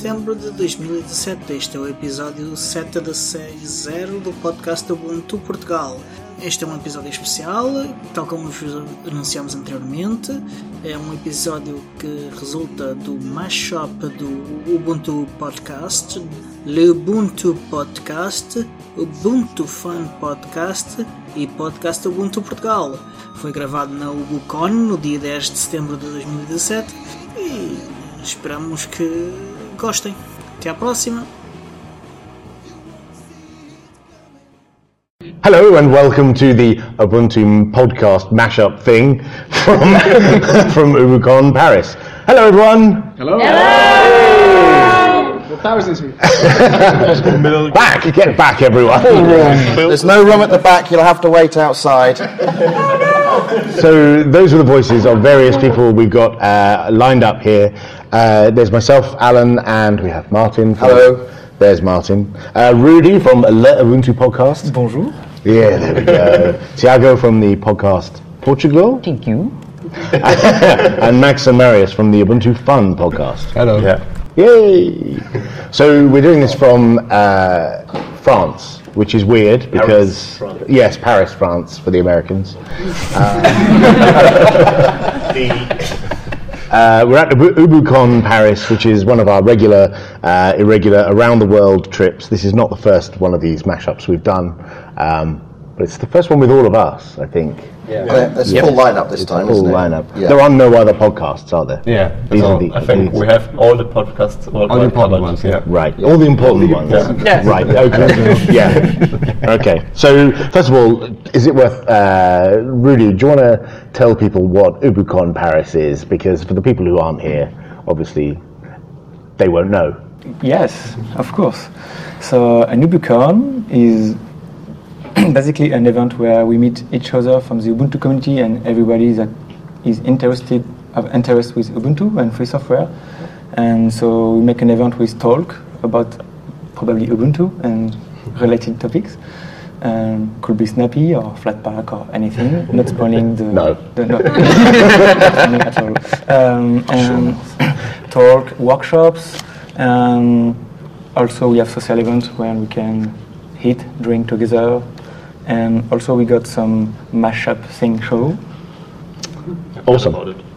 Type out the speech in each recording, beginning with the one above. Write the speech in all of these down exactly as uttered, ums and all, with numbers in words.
setembro de dois mil e dezassete. Este é o episódio sete de seis zero do podcast Ubuntu Portugal. Este é um episódio especial, tal como vos anunciámos anteriormente. É um episódio que resulta do mashup do Ubuntu Podcast, Le Ubuntu Podcast, Ubuntu Fun Podcast e Podcast Ubuntu Portugal. Foi gravado na UbuCon no dia dez de setembro de dois mil e dezassete e esperamos que gostem. Até à próxima! Hello and welcome to the Ubuntu podcast mashup thing from from UbuCon Paris. Hello everyone. Hello. Hello. The Paris this week. Back, get back everyone. There's no room at the back. You'll have to wait outside. So those are the voices of various people we've got uh, lined up here. Uh, there's myself, Alan, and we have Martin. From, Hello. There's Martin. Uh, Rudy from Le Ubuntu podcast. Bonjour. Yeah, there we go. Tiago from the podcast Portugal. Thank you. And Max and Marius from the Ubuntu Fun podcast. Hello. Yeah. Yay! So we're doing this from uh, France, which is weird because Paris, yes, Paris, France for the Americans. Um, the, uh, we're at the UbuCon Paris, which is one of our regular, uh, irregular around the world trips. This is not the first one of these mashups we've done, um, but it's the first one with all of us, I think. Yeah. Well, there's a Yep. full lineup this It's time, a full isn't it? lineup. Yeah. There are no other podcasts, are there? Yeah, These so are the- I think these- we have all the podcasts all, All the important ones, yeah. Right, all the important ones. Yeah. Right, okay. Yeah. Okay. So, first of all, is it worth, uh, Rudy, do you want to tell people what UbuCon Paris is? Because for the people who aren't here, obviously, they won't know. Yes, of course. So an UbuCon is basically an event where we meet each other from the Ubuntu community and everybody that is interested of interest with Ubuntu and free software. And so we make an event with talk about probably Ubuntu and related topics. Um, could be Snappy or Flatpak or anything. Not spoiling the No. the no, not spoiling at all. Um, and talk, workshops. Um, also, we have social events where we can eat, drink together. And also, we got some mashup thing show. Awesome.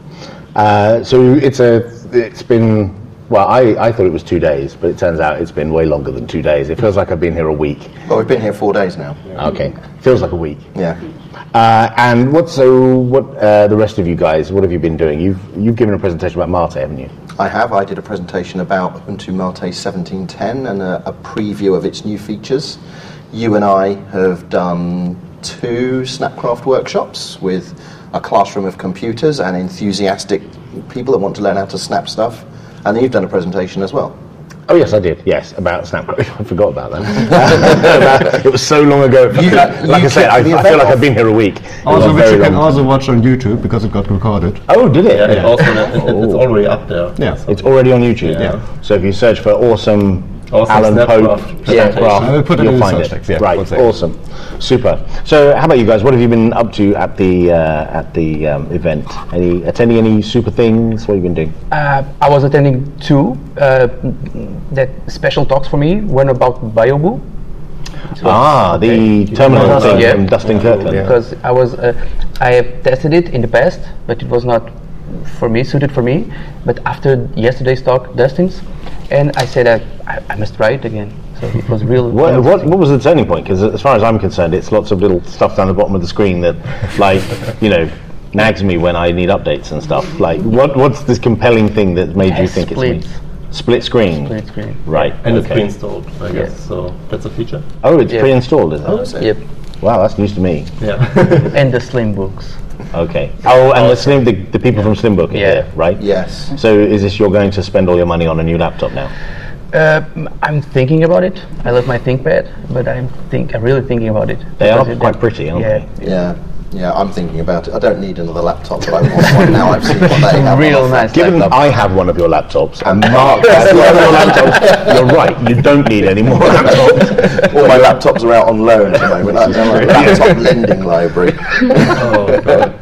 Uh, so it's a, it's been, well, I, I thought it was two days, but it turns out it's been way longer than two days. It feels like I've been here a week. Well, we've been here four days now. Okay. Feels like a week. Yeah. Uh, and what, so what, uh, the rest of you guys, what have you been doing? You've, you've given a presentation about Mate, haven't you? I have. I did a presentation about Ubuntu Mate seventeen ten and a, a preview of its new features. You and I have done two Snapcraft workshops with a classroom of computers and enthusiastic people that want to learn how to snap stuff. And then you've done a presentation as well. Oh yes, I did. Yes, about Snapcraft. I forgot about that. It was so long ago. You- like you I said, I, kicked the I feel event like off. I've been here a week. It Also, was which very you can long. also watch on YouTube because it got recorded. Oh, did it? Yeah, it also, it, it, it's already up there. Yeah. It's already on YouTube. Yeah. So if you search for awesome, Awesome Alan Snapcraft Pope presentation. Snapcraft, I will put it you'll in the find search it. text, yeah, right. one second. Awesome. Super. So how about you guys? What have you been up to at the uh, at the um, event? Any attending any super things? What have you been doing? Uh, I was attending two uh, that special talks for me. One about BioBoo. Ah, the terminal thing Yeah. from Dustin Kirkland. Because I was uh, I have tested it in the past, but it was not for me, suited for me. But after yesterday's talk, Dustin's, and I said uh, I, I must try it again. So it was real. What, what what was the turning point? Because as far as I'm concerned, it's lots of little stuff down the bottom of the screen that, like, you know, nags me when I need updates and stuff. Like, what what's this compelling thing that made you think Split. it's me? Split screen. Split screen. Right. And it's okay. pre-installed, I guess. Yeah. So that's a feature. Oh, it's Yeah. pre-installed, is it? Oh, is it? Yep. Wow, that's news to me. Yeah. And the Slim books. Okay. Oh, and the Slim, the, the people from Slimbook are Yeah. here, right? Yes. So is this you're going to spend all your money on a new laptop now? Uh, I'm thinking about it. I love my ThinkPad, but I'm think I'm really thinking about it. They are Because it- quite pretty, aren't yeah. they? Yeah. Yeah, I'm thinking about it. I don't need another laptop, but I want one now. I've seen what they have. Real on offer. nice. Given laptop. I have one of your laptops and Mark has one of your laptops, you're right, you don't need any more laptops. All my laptops are out on loan at the moment. That's a laptop lending library. Oh, God.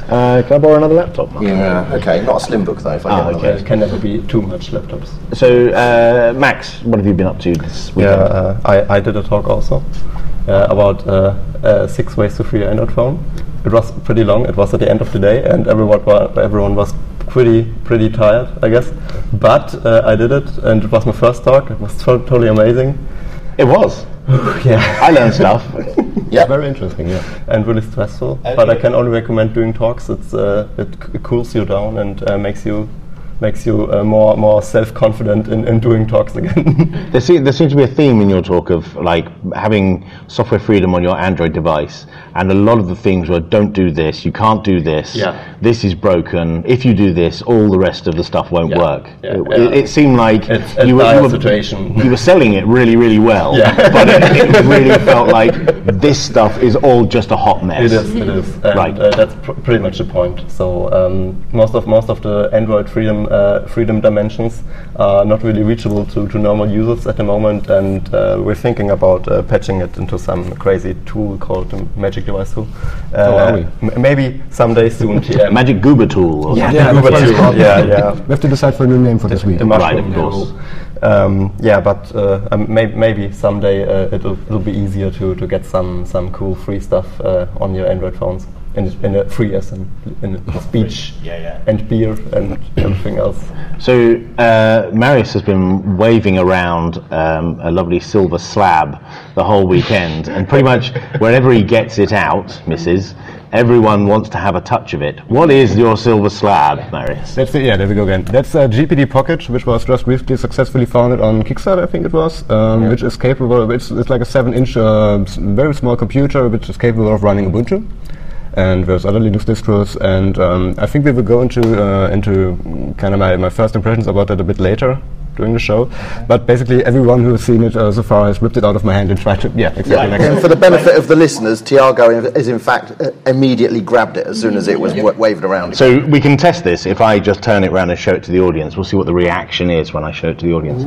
Uh, can I borrow another laptop? Mark? Yeah. Okay. Not a slim book though. If I Ah, get one of okay. those. It can never be too much laptops. So, uh, Max, what have you been up to this Yeah, weekend? uh, I, I did a talk also uh, about uh, uh, six ways to free your Android phone. It was pretty long. It was at the end of the day, and everyone wa- everyone was pretty pretty tired, I guess. But uh, I did it, and it was my first talk. It was to- totally amazing. It was. Yeah, I learned stuff. yeah, very interesting. Yeah, and really stressful. But I can only recommend doing talks. It's uh, it, c- it cools you down and uh, makes you makes you uh, more more self confident in, in doing talks again. There, se- there seems to be a theme in your talk of like having software freedom on your Android device, and a lot of the themes were don't do this, you can't do this, Yeah. this is broken. If you do this, all the rest of the stuff won't Yeah. work. Yeah. It, Yeah. it, it seemed like It's a you were, dire you, were, situation. you were selling it really, really well, Yeah. but it, it really felt like this stuff is all just a hot mess. It is, it is, and Right. uh, that's pr- pretty much the point. So um, most of most of the Android freedom uh, freedom dimensions are not really reachable to, to normal users at the moment, and uh, we're thinking about uh, patching it into some crazy tool called the Magic Device Tool. Uh, Oh, are we? m- maybe someday soon. T M. Magic Goober tool. Or Yeah, something. Yeah, the Goober that's what it's tool. called. Yeah, yeah. We have to decide for a new name for this week. The mushroom Right, of course. tool. Um, yeah, but uh, um, may- maybe someday uh, it'll it'll be easier to, to get some, some cool free stuff uh, on your Android phones in in a free as in, in a speech Yeah, yeah. and beer and everything else. So uh, Marius has been waving around um, a lovely silver slab the whole weekend, and pretty much wherever he gets it out, Missus everyone wants to have a touch of it. What is your silver slab, Marius? That's it, yeah, there we go again. That's a G P D Pocket, which was just recently successfully founded on Kickstarter, I think it was, um, which is capable, it's, it's like a seven inch, uh, s- very small computer, which is capable of running Ubuntu. And there's other Linux distros, and um, I think we will go into uh, into kind of my, my first impressions about that a bit later during the show. But basically, everyone who has seen it uh, so far has ripped it out of my hand and tried to, yeah, exactly. Yeah, like and that. for the benefit of the listeners, Tiago is in fact uh, immediately grabbed it as soon as it was wa- waved around. So we can test this. If I just turn it around and show it to the audience, we'll see what the reaction is when I show it to the audience.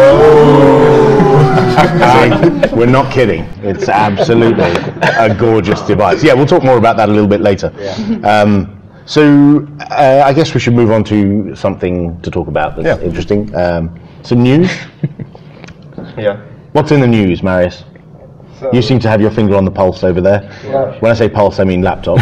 See, we're not kidding. It's absolutely a gorgeous device. Yeah, we'll talk more about that a little bit later. Um, so uh, I guess we should move on to something to talk about that's Yeah. interesting. Um, some news. Yeah. What's in the news, Marius? You seem to have your finger on the pulse over there. When I say pulse, I mean laptop.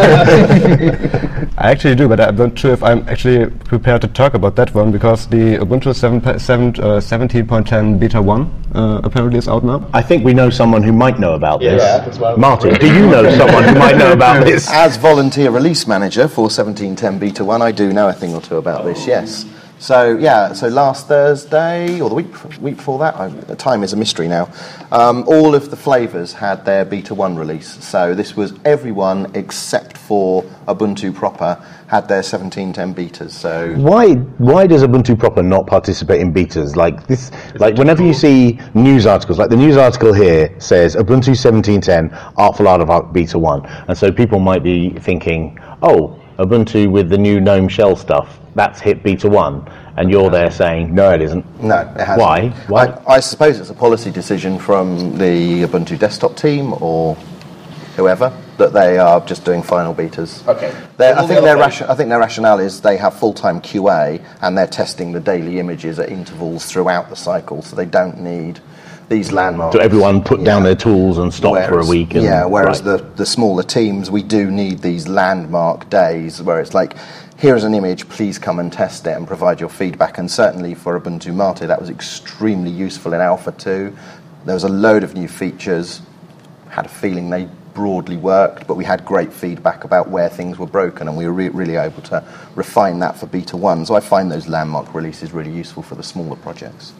I actually do, but I'm not sure if I'm actually prepared to talk about that one because the Ubuntu seven, seven, uh, seventeen point ten Beta one uh, apparently is out now. I think we know someone who might know about this. Yeah, that's why- Martin, do you know someone who might know about this? As volunteer release manager for seventeen ten Beta one, I do know a thing or two about this, yes. So, yeah, so last Thursday, or the week week before that, I, the time is a mystery now, um, all of the flavours had their Beta one release. So this was everyone except for Ubuntu proper had their seventeen ten betas. So Why why does Ubuntu proper not participate in betas? Like this like whenever you see news articles, like the news article here says Ubuntu seventeen ten Artful Art of Beta one. And so people might be thinking, oh, Ubuntu with the new GNOME shell stuff, that's hit Beta one. And you're there saying, no, it isn't. no, it hasn't. Why? Why? I, I suppose it's a policy decision from the Ubuntu desktop team or whoever that they are just doing final betas. Okay. They're- I All the think other their things- ration, I think their rationale is they have full-time Q A and they're testing the daily images at intervals throughout the cycle, so they don't need these landmarks. So everyone put down Yeah. their tools and stop for a Whereas- week. And, yeah, whereas right. the, the smaller teams, we do need these landmark days where it's like, here's an image, please come and test it and provide your feedback. And certainly for Ubuntu Mate, that was extremely useful in Alpha two. There was a load of new features, had a feeling they broadly worked, but we had great feedback about where things were broken, and we were re- really able to refine that for Beta one. So I find those landmark releases really useful for the smaller projects.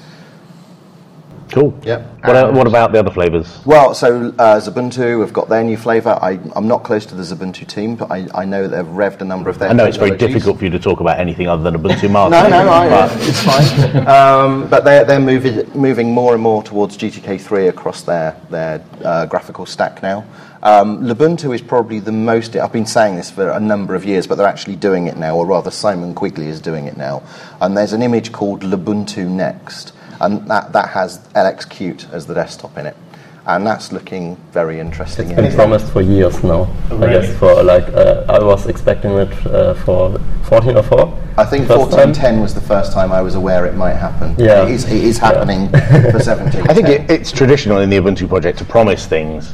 Cool. Yep. What, el- what about the other flavours? Well, so uh, Ubuntu have got their new flavour. I, I'm not close to the Ubuntu team, but I, I know that they've revved a number of their I know it's very technologies. difficult for you to talk about anything other than Ubuntu Mate. No, no, I, But- it's fine. Um, but they're, they're moving, moving more and more towards G T K three across their, their uh, graphical stack now. Um, Lubuntu is probably the most... I've been saying this for a number of years, but they're actually doing it now, or rather Simon Quigley is doing it now. And there's an image called Lubuntu Next, and that, that has L X Qt as the desktop in it. and that's looking very interesting. It's been promised for years now. Oh, I really? guess for like uh, I was expecting it uh, for fourteen oh four. I think First fourteen time? ten was the first time I was aware it might happen. Yeah. It is, it is happening for seventeen. I think it, it's traditional in the Ubuntu project to promise things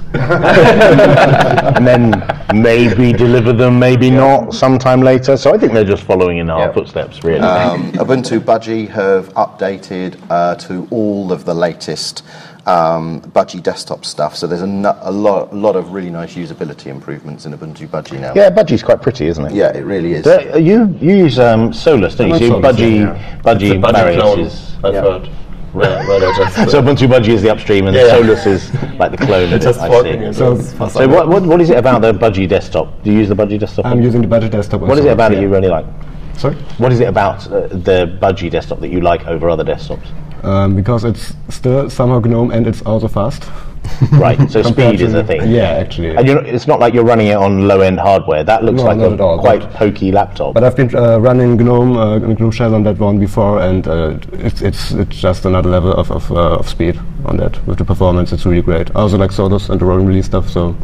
and then maybe deliver them, maybe not sometime later. So I think they're just following in our Yeah. footsteps, really. Um, Ubuntu Budgie have updated uh, to all of the latest um, Budgie desktop stuff. So there's a, no, a lot, a lot of really nice usability improvements in Ubuntu Budgie now. yeah, Budgie's quite pretty, isn't it? Yeah, it really is. So, uh, you you use um, Solus, don't you? I So love Solus, Budgie, yeah. Budgie, Budgie Marius clone, is. I've yeah. heard. Where, where they just, uh, So Ubuntu Budgie is the upstream, and Yeah, yeah. Solus is like the clone of it's it. just I working. see. and So- it's fast. So what, what what is it about the Budgie desktop? Do you use the Budgie desktop? I'm using the Budgie desktop. on What is it Solus, about yeah. it you really like? Sorry? What is it about uh, the Budgie desktop that you like over other desktops? Um, because it's still somehow GNOME and it's also fast. Right, so Compared speed is to- a thing. Yeah, actually. And you're, it's not like you're running it on low-end hardware. That looks No, like not a at all, quite but- pokey laptop. But I've been uh, running GNOME, uh, GNOME Shell on that one before, and uh, it's it's it's just another level of of, uh, of speed on that. With the performance, it's really great. I also like Solus and the rolling release stuff. So,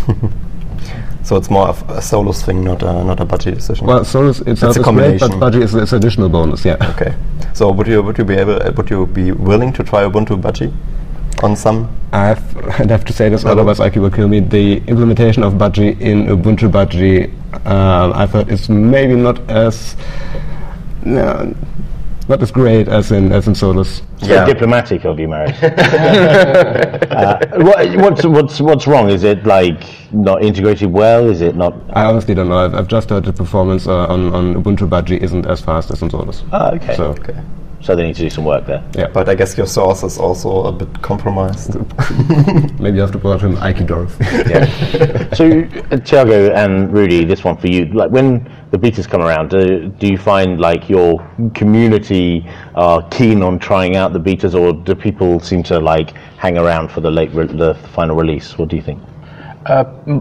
So it's more of a Solus thing, not a not a Budgie decision. well, Solus itself a is great, but combination. Budgie is is additional bonus. Yeah. Okay. So would you would you be able uh, would you be willing to try Ubuntu Budgie on some? I've, I'd have to say this, otherwise I Q will kill me. The implementation of Budgie in Ubuntu Budgie, uh, I've heard it's maybe not as no, not as great as in as in Solus. So Yeah. diplomatic of you, Marius. uh, what, what's what's what's wrong? Is it like not integrated well? Is it not? I honestly don't know. I've, I've just heard the performance uh, on, on Ubuntu Budgie isn't as fast as on Solus. Oh, okay. So, Okay. So they need to do some work there. yeah. But I guess your source is also a bit compromised. Maybe you have to put him Ike Dorf. Yeah. So, uh, Thiago and Rudy, this one for you. Like when the betas come around, do, do you find like your community are keen on trying out the betas, or do people seem to like hang around for the late re- the final release? What do you think? Uh, mm,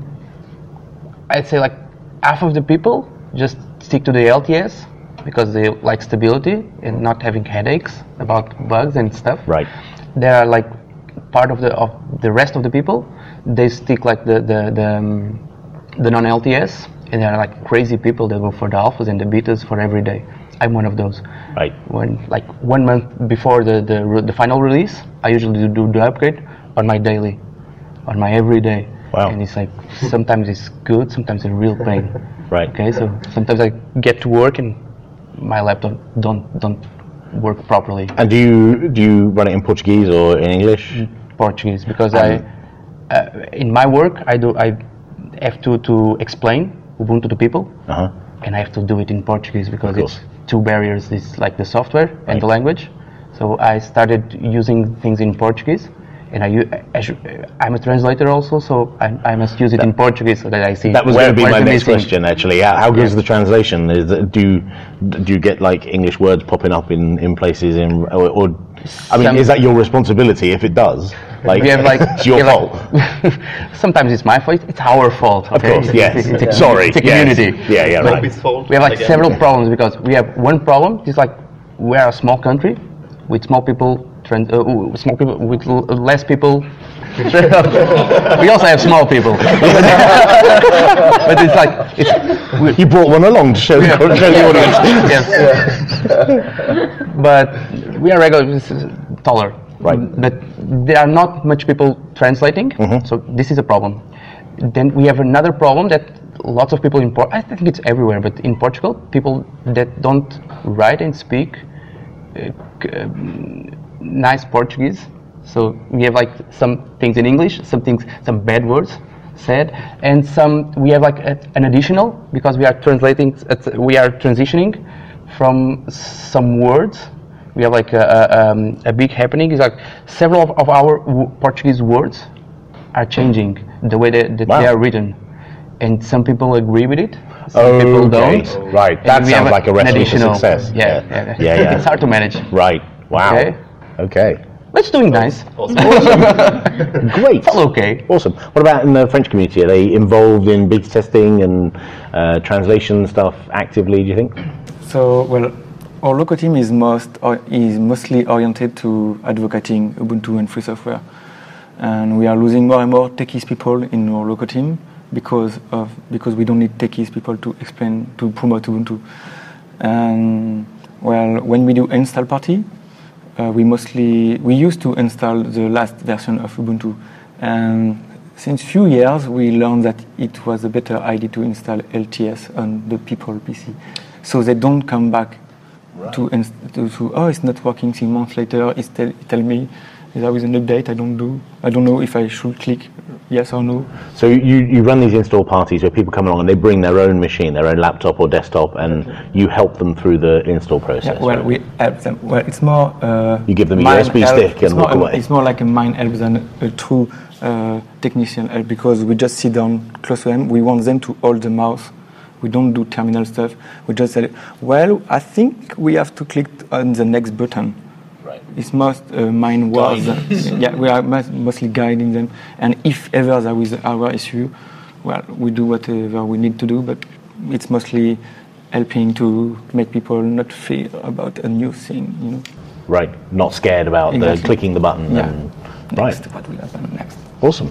I'd say like half of the people just stick to the L T S because they like stability and not having headaches about bugs and stuff. Right. There are like part of the of the rest of the people, they stick like the the the, um, the non-L T S, and there are like crazy people that go for the alphas and the betas for every day. I'm one of those. Right. When like one month before the the, re- the final release, I usually do, do the upgrade on my daily, on my everyday. Wow. And it's like sometimes it's good, sometimes it's a real pain. Right. Okay, so sometimes I get to work and my laptop don't don't work properly. And do you do you run it in Portuguese or in English? Portuguese because I uh, in my work I do I have to to explain Ubuntu to people, Uh huh. and I have to do it in Portuguese because Of course. it's two barriers. It's like the software Right. and the language. So I started using things in Portuguese, and I u- I should, I'm a translator also, so I, I must use it in Portuguese so that I see. That was where, going to be where's my the next missing. question, actually. How, how good is the translation? Is that, do you, do you get like English words popping up in, in places in, or, or I mean, Some- is that your responsibility if it does? Like, We have like it's your we have fault. like- sometimes it's my fault. It's our fault. Of Okay? course, It's- yes. It's, it's a, Sorry, it's a yes. community. Yeah, yeah, But right. We have like several problems because we have one problem. It's like we are a small country with small people, trans- uh, uh, small people with l- less people. We also have small people, but it's like it's, we, You brought one along to show, the, show the audience. yes. But we are regular, this is taller. Right. But there are not much people translating, so this is a problem. Then we have another problem that lots of people in Por- I think it's everywhere, but in Portugal, people that don't write and speak uh, c- um, nice Portuguese. So we have like some things in English, some things, some bad words said, and some we have like a, an additional because we are translating, at- we are transitioning from some words. We have like a, a, um, a big happening. It's like several of, of our w- Portuguese words are changing the way that, that Wow. they are written, and some people agree with it. Some people Okay. don't. Right, And that we have sounds like a an recipe for additional- success. Yeah, Yeah. yeah, Yeah, yeah. It's hard to manage. Right. Wow. Okay. Okay. But it's doing nice. Great. It's all okay. Awesome. What about in the French community? Are they involved in beta testing and uh, translation stuff actively, do you think? So, well, our local team is most or is mostly oriented to advocating Ubuntu and free software. and we are losing more and more techies people in our local team because of because we don't need techies people to explain to promote Ubuntu. And well, when we do install party, uh, we mostly we used to install the last version of Ubuntu, and since few years we learned that it was a better idea to install L T S on the people P C, so they don't come back right. to, inst- to to oh it's not working. Six months later, it tell, it tell me there is an update. I don't do. I don't know if I should click yes or no. So you, you run these install parties where people come along and they bring their own machine, their own laptop or desktop, and you help them through the install process. Yeah, well, right? we help them. Well, it's more. Uh, you give them a U S B help. stick it's and walk more, away. It's more like a mind help than a true uh, technician help, because we just sit down close to them. We want them to hold the mouse. We don't do terminal stuff. We just say, well, I think we have to click on the next button. Right. It's most uh, mind words. Yeah, we are most, mostly guiding them. And if ever there is our issue, well, we do whatever we need to do. But it's mostly helping to make people not fear about a new thing. You know. Right. Not scared about Exactly. the clicking the button. Yeah. And, Next, right. what will happen next? Awesome.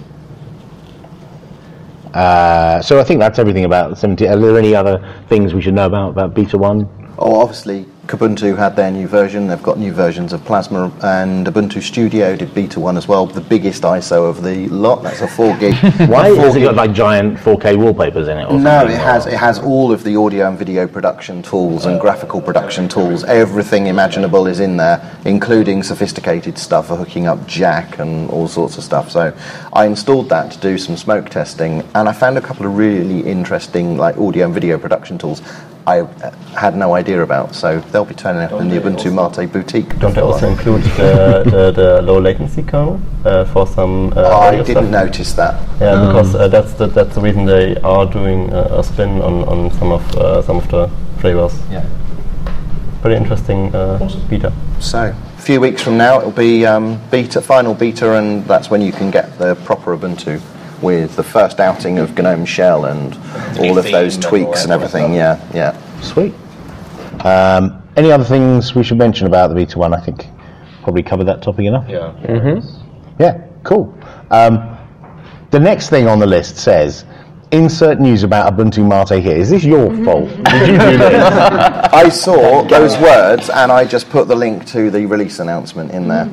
Uh, so I think that's everything about seventeen. Are there any other things we should know about about Beta one? Oh, obviously, Kubuntu had their new version. They've got new versions of Plasma, and Ubuntu Studio did Beta one as well. The biggest I S O of the lot. That's a four gig. Why four has it gig. got like giant four K wallpapers in it? Or No, something? it has it has all of the audio and video production tools and graphical production tools. Everything imaginable is in there, including sophisticated stuff for hooking up jack and all sorts of stuff. So I installed that to do some smoke testing, and I found a couple of really interesting like audio and video production tools I had no idea about. So they'll be turning up in the Ubuntu Mate boutique. Don't they also include the, the, the low latency kernel uh, for some uh, I audio didn't stuff? notice that. Yeah, because uh, that's the that's the reason they are doing uh, a spin on, on some of uh, some of the flavors. Yeah. Pretty interesting uh, beta. So a few weeks from now it'll be um, beta, final beta, and that's when you can get the proper Ubuntu with the first outing of GNOME Shell and all of those tweaks and everything. Yeah, yeah. Sweet. Um, any other things we should mention about the Beta one? I think probably covered that topic enough. Yeah. Yeah, cool. Um, the next thing on the list says, insert news about Ubuntu Mate here. Is this your fault? Did you do this? I saw those words and I just put the link to the release announcement in there.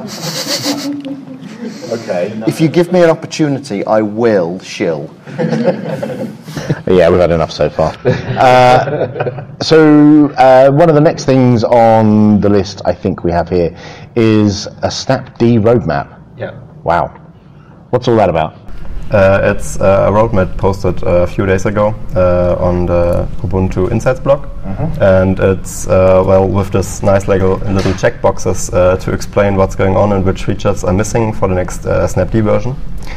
Okay. If you give me an opportunity, I will shill. Yeah, we've had enough so far. Uh, so uh, one of the next things on the list I think we have here is a Snapd roadmap. Yeah. Wow. What's all that about? Uh, it's uh, a roadmap posted uh, a few days ago uh, on the Ubuntu Insights blog, and it's uh, well with this nice little little checkboxes uh, to explain what's going on and which features are missing for the next uh, Snapd version.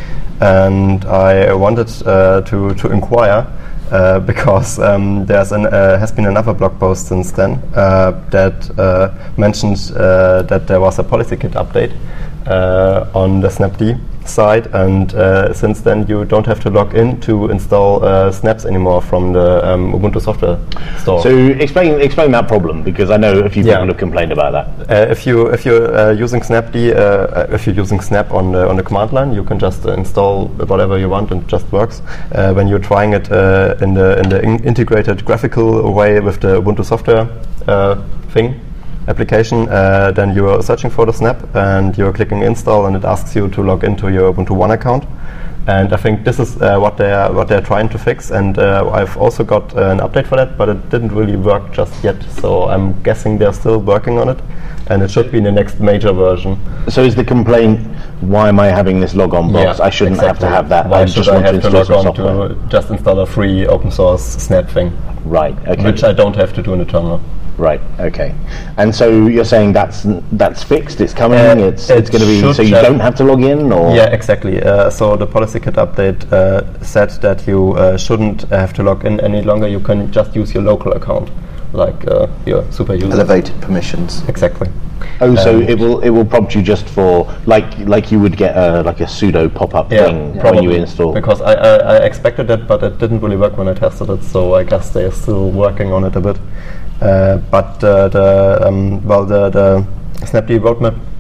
And I wanted uh, to to inquire uh, because um, there's an uh, has been another blog post since then uh, that uh, mentioned uh, that there was a policy kit update uh, on the Snapd side, and uh, since then you don't have to log in to install uh, snaps anymore from the um, Ubuntu software store. So explain explain that problem, because I know a few Yeah. people have complained about that. Uh, if you if you're uh, using Snapd, uh, if you're using Snap on the on the command line, you can just uh, install whatever you want and it just works. Uh, when you're trying it uh, in the in the in integrated graphical way with the Ubuntu software uh, thing application, uh, then you're searching for the Snap and you're clicking install, and it asks you to log into your Ubuntu One account. And I think this is uh, what they're what they're trying to fix. And uh, I've also got uh, an update for that, but it didn't really work just yet. So I'm guessing they're still working on it, and it should be in the next major version. So is the complaint, why am I having this logon box? I shouldn't have to exactly. have that. Why I should just I want to have to install log some on software. to just install a free open source Snap thing, Right. Okay. which I don't have to do in the terminal. Right. Okay. And so you're saying that's that's fixed. It's coming. Uh, it's it it's going to be. should So you just- don't have to log in, or Yeah, exactly. Uh, so the policy kit update uh, said that you uh, shouldn't have to log in any longer. You can just use your local account, like uh, your super user. Elevated permissions. Exactly. Oh, so Um, it will it will prompt you just for like like you would get a like a sudo pop up Yeah, thing when probably. you install. Because I, I, I expected that, but it didn't really work when I tested it. So I guess they are still working on it a bit. Uh, but uh, the um, well, the, the Snapd roadmap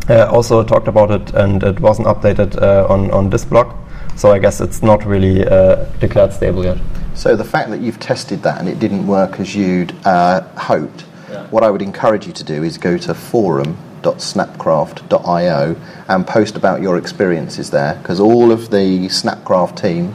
uh, also talked about it, and it wasn't updated uh, on on this blog. So I guess it's not really uh, declared stable yet. So the fact that you've tested that and it didn't work as you'd uh, hoped, yeah. what I would encourage you to do is go to forum dot snapcraft dot io and post about your experiences there, because all of the Snapcraft team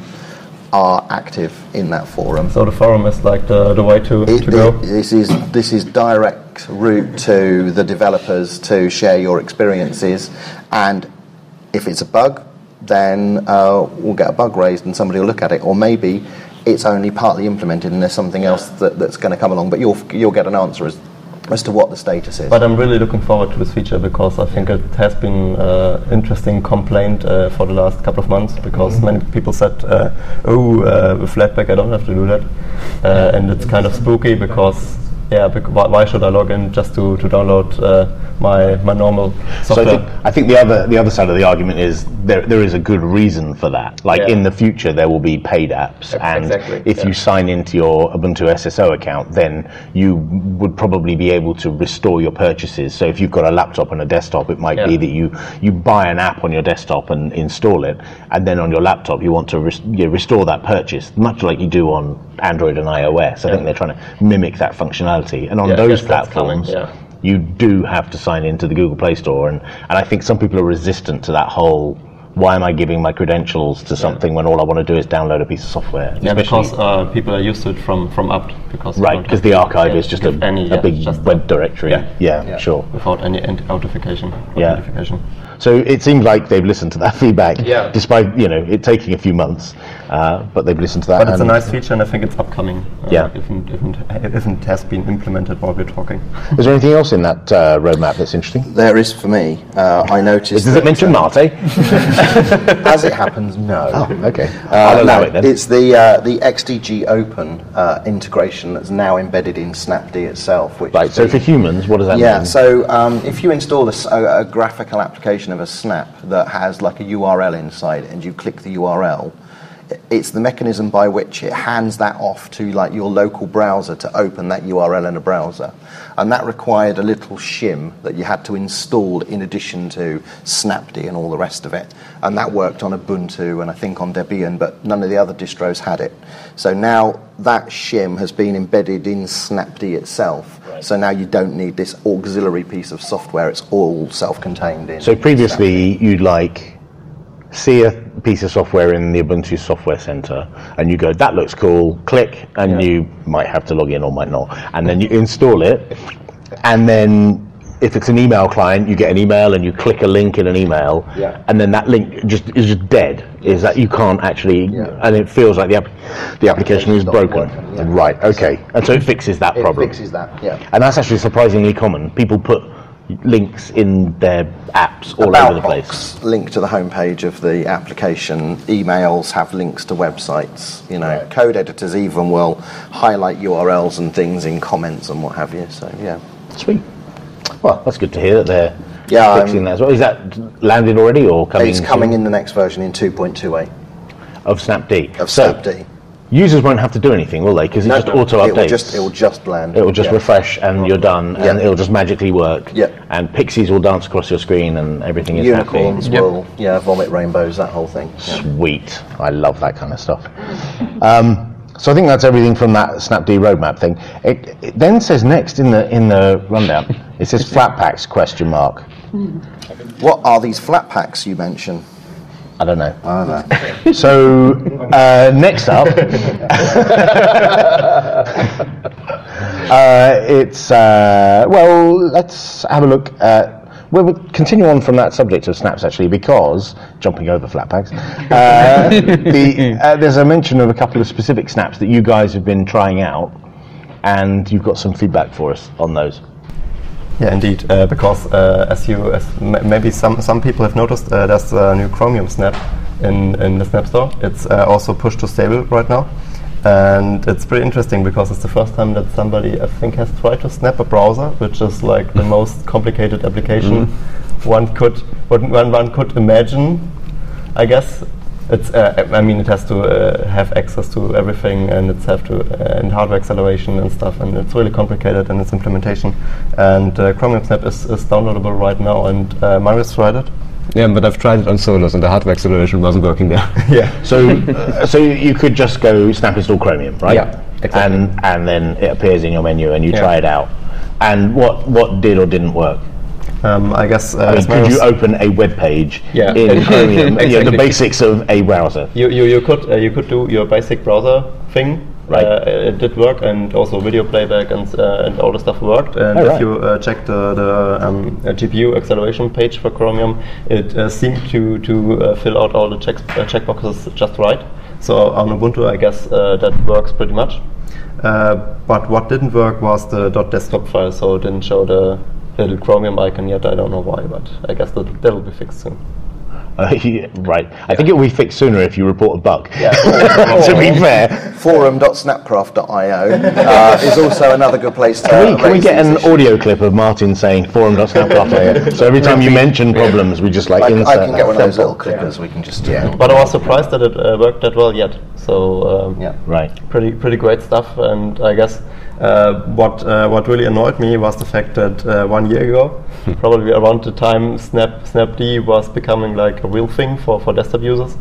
are active in that forum. So the forum is like the, the way to, it, to go? It, this is this is direct route to the developers to share your experiences, and if it's a bug, then uh, we'll get a bug raised and somebody will look at it, or maybe it's only partly implemented and there's something else that, that's going to come along, but you'll you'll get an answer as as to what the status is. But I'm really looking forward to this feature, because I think it has been an uh, interesting complaint uh, for the last couple of months, because mm-hmm. many people said, uh, oh, uh, with Flatpak I don't have to do that, uh, and it's kind of spooky, because yeah, bec- why, why should I log in just to, to download uh, my my normal software? So I think, I think the other the other side of the argument is there there is a good reason for that. Like yeah. in the future there will be paid apps, and exactly. if yeah. you sign into your Ubuntu S S O account, then you would probably be able to restore your purchases. So if you've got a laptop and a desktop, it might yeah. be that you, you buy an app on your desktop and install it, and then on your laptop you want to res- you know, restore that purchase, much like you do on Android and iOS. I yeah. think they're trying to mimic that functionality. And on yeah, those yes, that's platforms, coming, yeah. you do have to sign into the Google Play Store, and, and I think some people are resistant to that whole, why am I giving my credentials to something yeah. when all I want to do is download a piece of software? Yeah, because uh, people are used to it from, from apt. Because right, because the archive is just a, any, a yeah, big just web directory. Yeah. Yeah, yeah, sure. Without any authentication. Yeah. Authentication. So it seems like they've listened to that feedback, yeah. despite you know it taking a few months, uh, but they've listened to that. But it's a nice feature, and I think it's upcoming. Uh, yeah. If it, if, it, if it has been implemented while we're talking. Is there anything else in that uh, roadmap that's interesting? There is for me. Uh, I noticed. Does it mention Mate? As it happens, no. Oh, okay. Uh, I'll allow no, it then. It's the uh, the X D G Open uh, integration that's now embedded in Snapd itself. Which right. So the, for humans, what does that yeah, mean? Yeah. So um, if you install a, a, a graphical application of a Snap that has like a U R L inside it, and you click the U R L, it's the mechanism by which it hands that off to like your local browser to open that U R L in a browser, and that required a little shim that you had to install in addition to Snapd and all the rest of it, and that worked on Ubuntu and I think on Debian, but none of the other distros had it. So now that shim has been embedded in Snapd itself, right. So now you don't need this auxiliary piece of software, it's all self-contained in So previously Snapd. You'd like see a piece of software in the Ubuntu Software Center, and you go, that looks cool, click, and yeah. you might have to log in or might not. And then you install it, and then if it's an email client, you get an email and you click a link in an email, yeah. and then that link just is just dead. Yes. Is that you can't actually, yeah. and it feels like the app, the application is broken. Working, yeah. Right, okay. And so it fixes that it problem. It fixes that, yeah. And that's actually surprisingly common. People put links in their apps all About over the place. Box, link to the homepage of the application. Emails have links to websites. You know, right. Code editors even will highlight U R Ls and things in comments and what have you. So yeah, sweet. Well, that's good to hear that they're yeah, fixing um, that as well. Is that landed already or coming? It's coming soon? in the next version in two point two eight of Snapd. Of so, Snapd. Users won't have to do anything, will they? Because it no, just no, auto updates. It will just, it will just land. It will just yeah. refresh, and you're done, yeah. and it'll just magically work. Yeah. And pixies will dance across your screen, and everything is Unicorns happy. will, yep. yeah, vomit rainbows, that whole thing. Yeah. Sweet. I love that kind of stuff. Um, so I think that's everything from that Snapd roadmap thing. It, it then says next in the in the rundown, it says Flatpaks question mark. What are these Flatpaks you mention? I don't know. I don't know. So uh, next up, uh, it's uh, well. Let's have a look at. Well, we'll continue on from that subject of snaps actually, because jumping over Flatpaks, uh, the, uh, there's a mention of a couple of specific snaps that you guys have been trying out, and you've got some feedback for us on those. Yeah, indeed, uh, because uh, as you, as m- maybe some, some people have noticed, uh, there's a new Chromium Snap in, in the Snap Store. It's uh, also pushed to stable right now, and it's pretty interesting because it's the first time that somebody, I think, has tried to snap a browser, which is like the most complicated application mm. one could one, one could imagine, I guess. it's uh, I mean it has to uh, have access to everything, and it's have to uh, and hardware acceleration and stuff, and it's really complicated in its implementation. And uh, Chromium Snap is, is downloadable right now, and uh, Marius tried it. Yeah, but I've tried it on Solus, and the hardware acceleration wasn't working there. Yeah. So, uh, so you could just go snap install Chromium, right? Yeah, exactly. And and then it appears in your menu, and you Yeah. try it out. And what what did or didn't work? Um, I guess. Uh, I mean, as could Marius- you open a web page Yeah. in Chromium? You know, the Exactly. basics of a browser. You, you, you could uh, you could do your basic browser thing. Right. Uh, it did work, and also video playback and uh, and all the stuff worked. And Oh, if right. you uh, check the, the um, uh, G P U acceleration page for Chromium, it uh, seemed to to uh, fill out all the checks, uh, checkboxes just right. So on Ubuntu, I guess uh, that works pretty much. Uh, but what didn't work was the .desktop file, so it didn't show the little Chromium icon yet. I don't know why, but I guess that that'll be fixed soon. Uh, yeah, right. I think it will be fixed sooner if you report a bug. Yeah. To be fair, forum dot snapcraft dot i o uh, is also another good place to can we, can we raise get these an issues. audio clip of Martin saying forum dot snap dot i o? So every time you mention problems, we just like I, insert I can get that. one of those little clippers. We can just yeah. But I was surprised that it uh, worked that well yet. So um, Yeah. Right. pretty pretty great stuff. And I guess uh, what uh, what really annoyed me was the fact that uh, one year ago, probably around the time Snap Snapd was becoming like a real thing for, for desktop users,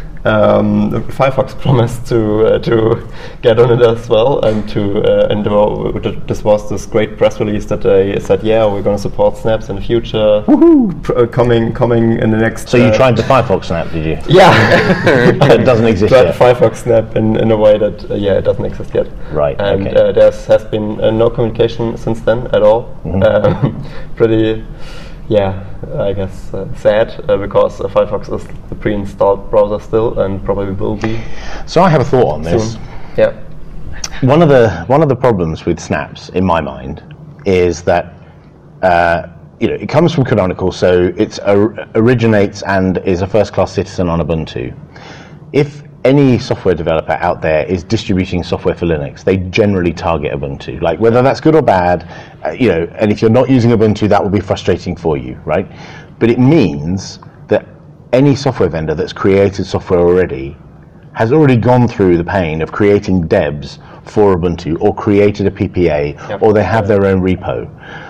um, Firefox promised to uh, to get on it as well, and to uh, and uh, this was this great press release that they said, yeah, we're going to support snaps in the future, pr- uh, coming coming in the next. So you uh, tried the Firefox Snap, did you? Yeah. It doesn't exist Tried yet. Firefox Snap in, in a way that uh, yeah, it doesn't exist yet. Right, And okay. uh, there has been uh, no communication since then at all. Mhm. Um, pretty, yeah, I guess uh, sad uh, because uh, Firefox is the pre-installed browser still, and probably will be So I have a thought on this. soon. Yeah. One of the one of the problems with snaps, in my mind, is that uh, you know it comes from Canonical, so it or, originates and is a first-class citizen on Ubuntu. If any software developer out there is distributing software for Linux, they generally target Ubuntu. Like whether that's good or bad, uh, you know. And if you're not using Ubuntu, that will be frustrating for you, right? But it means that any software vendor that's created software already has already gone through the pain of creating debs for Ubuntu, or created a P P A, Yep. or they have their own repo.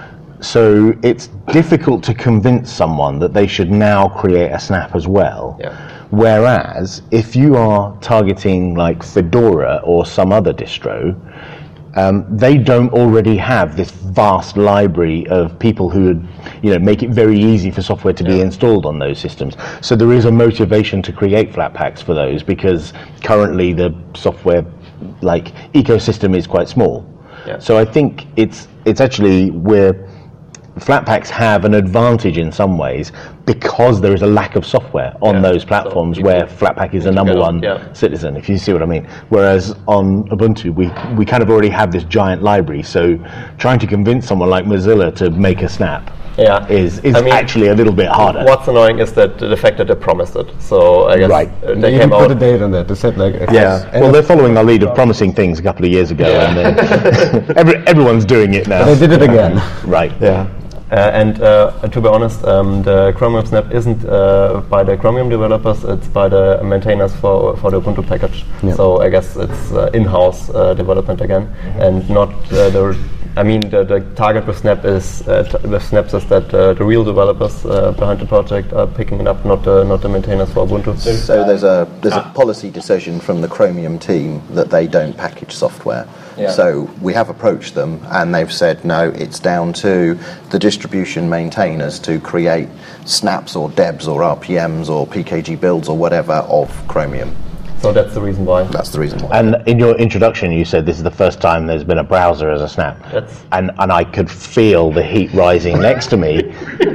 So it's difficult to convince someone that they should now create a snap as well. Yeah. Whereas if you are targeting like Fedora or some other distro, um, they don't already have this vast library of people who would, you know, make it very easy for software to be installed on those systems. So there is a motivation to create Flatpaks for those, because currently the software like ecosystem is quite small. Yeah. So I think it's it's actually where Flatpaks have an advantage in some ways, because there is a lack of software on Yeah. those platforms So where people Flatpak is the need to number get on, one yeah. citizen, if you see what I mean. Whereas on Ubuntu, we we kind of already have this giant library, so trying to convince someone like Mozilla to make a snap Yeah. is, is I mean, actually a little bit harder. What's annoying is that the fact that they promised it. So I guess Right. uh, They they even came put out. a date on that. They said like Yeah, end well, of- they're following the lead of promising things a couple of years ago, Yeah. and then every, everyone's doing it now. they did it again. Right. Yeah. Uh, and uh, to be honest, um, the Chromium Snap isn't uh, by the Chromium developers; it's by the maintainers for for the Ubuntu package. Yeah. So I guess it's uh, in-house uh, development again, and not uh, the. I mean, the, the target with Snap is uh, t- with Snaps is that uh, the real developers uh, behind the project are picking it up, not the not the maintainers for Ubuntu. So there's a there's a policy decision from the Chromium team that they don't package software. Yeah. So we have approached them, and they've said no, it's down to the distribution maintainers to create snaps or debs or R P Ms or P K G builds or whatever of Chromium. So that's the reason why. That's the reason why. And in your introduction, you said this is the first time there's been a browser as a snap. That's- And and I could feel the heat rising next to me.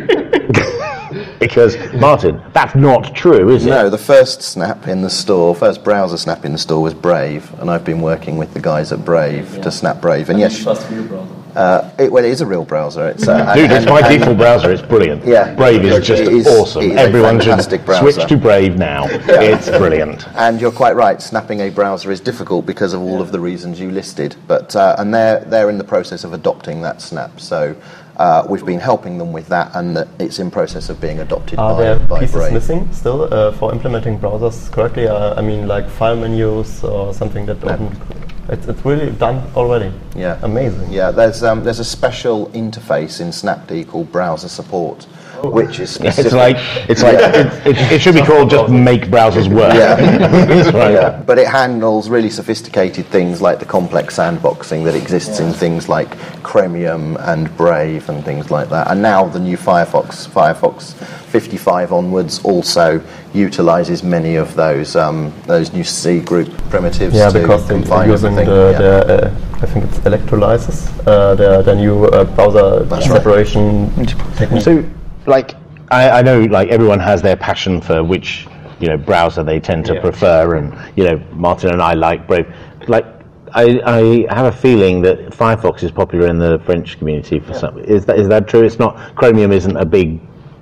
Because, Martin, that's not true, is it? No, the first snap in the store, first browser snap in the store was Brave, and I've been working with the guys at Brave to snap Brave. And yes, uh, it, well, it is a real browser. It's uh, Dude, and- it's my and- default browser. It's brilliant. Yeah. Brave is It just is- awesome. it is a Everyone should fantastic browser. switch to Brave now. It's brilliant. And you're quite right. Snapping a browser is difficult because of all of the reasons you listed. But uh, and they're they're in the process of adopting that snap. So Uh, we've been helping them with that, and that it's in process of being adopted Are by, there by pieces Brave. missing still uh, for implementing browsers correctly? Uh, I mean, like file menus or something that No. open. It's, it's really done already. Yeah, Amazing. Yeah, there's um, there's a special interface in Snapd called Browser Support, which is Yeah, specific. it's like it's like it, it, it should be called just make browsers work. Yeah. That's right. Yeah, but it handles really sophisticated things like the complex sandboxing that exists in things like Chromium and Brave and things like that. And now the new Firefox, Firefox fifty-five onwards, also utilises many of those um, those new C group primitives Yeah, to because they're combine using everything. the, yeah. the uh, I think it's electrolysis, uh, the, the new uh, browser That's right. separation technique. So, like, I, I know, like, everyone has their passion for which, you know, browser they tend to Yeah. prefer, and, you know, Martin and I like Brave. Like, I, I have a feeling that Firefox is popular in the French community for some. Is that is that true? It's not. Chromium isn't a big,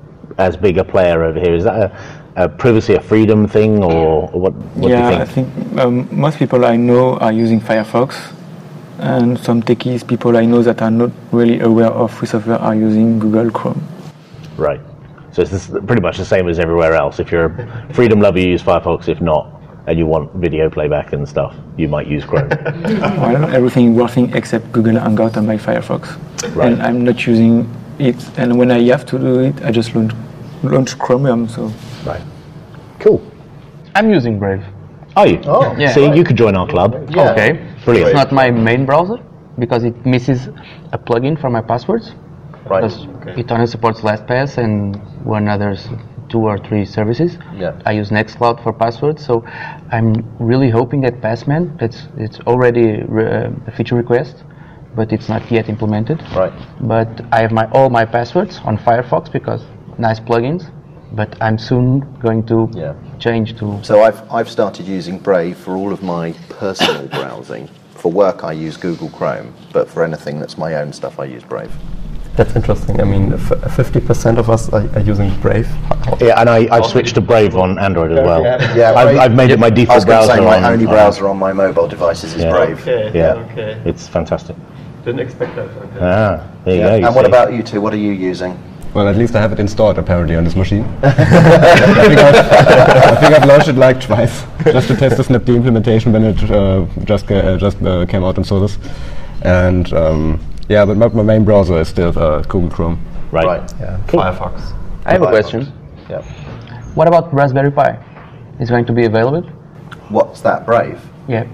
as big a player over here. Is that a, a privacy, a freedom thing, or, or what? What yeah, do you I think? think um, most people I know are using Firefox, and some techies, people I know that are not really aware of free software, are using Google Chrome. Right. So it's this, pretty much the same as everywhere else. If you're a freedom lover, you use Firefox. If not, and you want video playback and stuff, you might use Chrome. Well, everything working except Google Hangout on my Firefox, Right. and I'm not using it. And when I have to do it, I just launch, launch Chromium. So Right. Cool. I'm using Brave. Are you? Oh. Yeah. See, you could join our club. Yeah. Okay. Brilliant. It's not my main browser because it misses a plugin for my passwords. Right. Because it only supports LastPass and one other's two or three services. Yeah. I use Nextcloud for passwords, so I'm really hoping that Passman, it's it's already re- uh, a feature request, but it's not yet implemented. Right. But I have my all my passwords on Firefox because nice plugins. But I'm soon going to Yeah. change to. So I've I've started using Brave for all of my personal browsing. For work, I use Google Chrome, but for anything that's my own stuff, I use Brave. That's interesting. I mean, fifty percent of us are, are using Brave. Yeah, and I, I've switched to Brave on Android as well. Yeah, I've, Brave- I've made it my I was default going to browser. say my on, only on- browser on my mobile devices is Yeah. Brave. Okay. Yeah, Okay. it's fantastic. Didn't expect that. Okay. Ah, there you Yeah. go. you And what see. about you two? What are you using? Well, at least I have it installed apparently on this machine. I, think I've, I think I've launched it like twice just to test the Snapd implementation when it uh, just ca- uh, just uh, came out in Solus. And um, yeah, but my, my main browser is still uh, Google Chrome. Right. Right. Yeah. Firefox. I have a Firefox. question. Yeah. What about Raspberry Pi? Is going to be available? What's that, Brave? Yeah.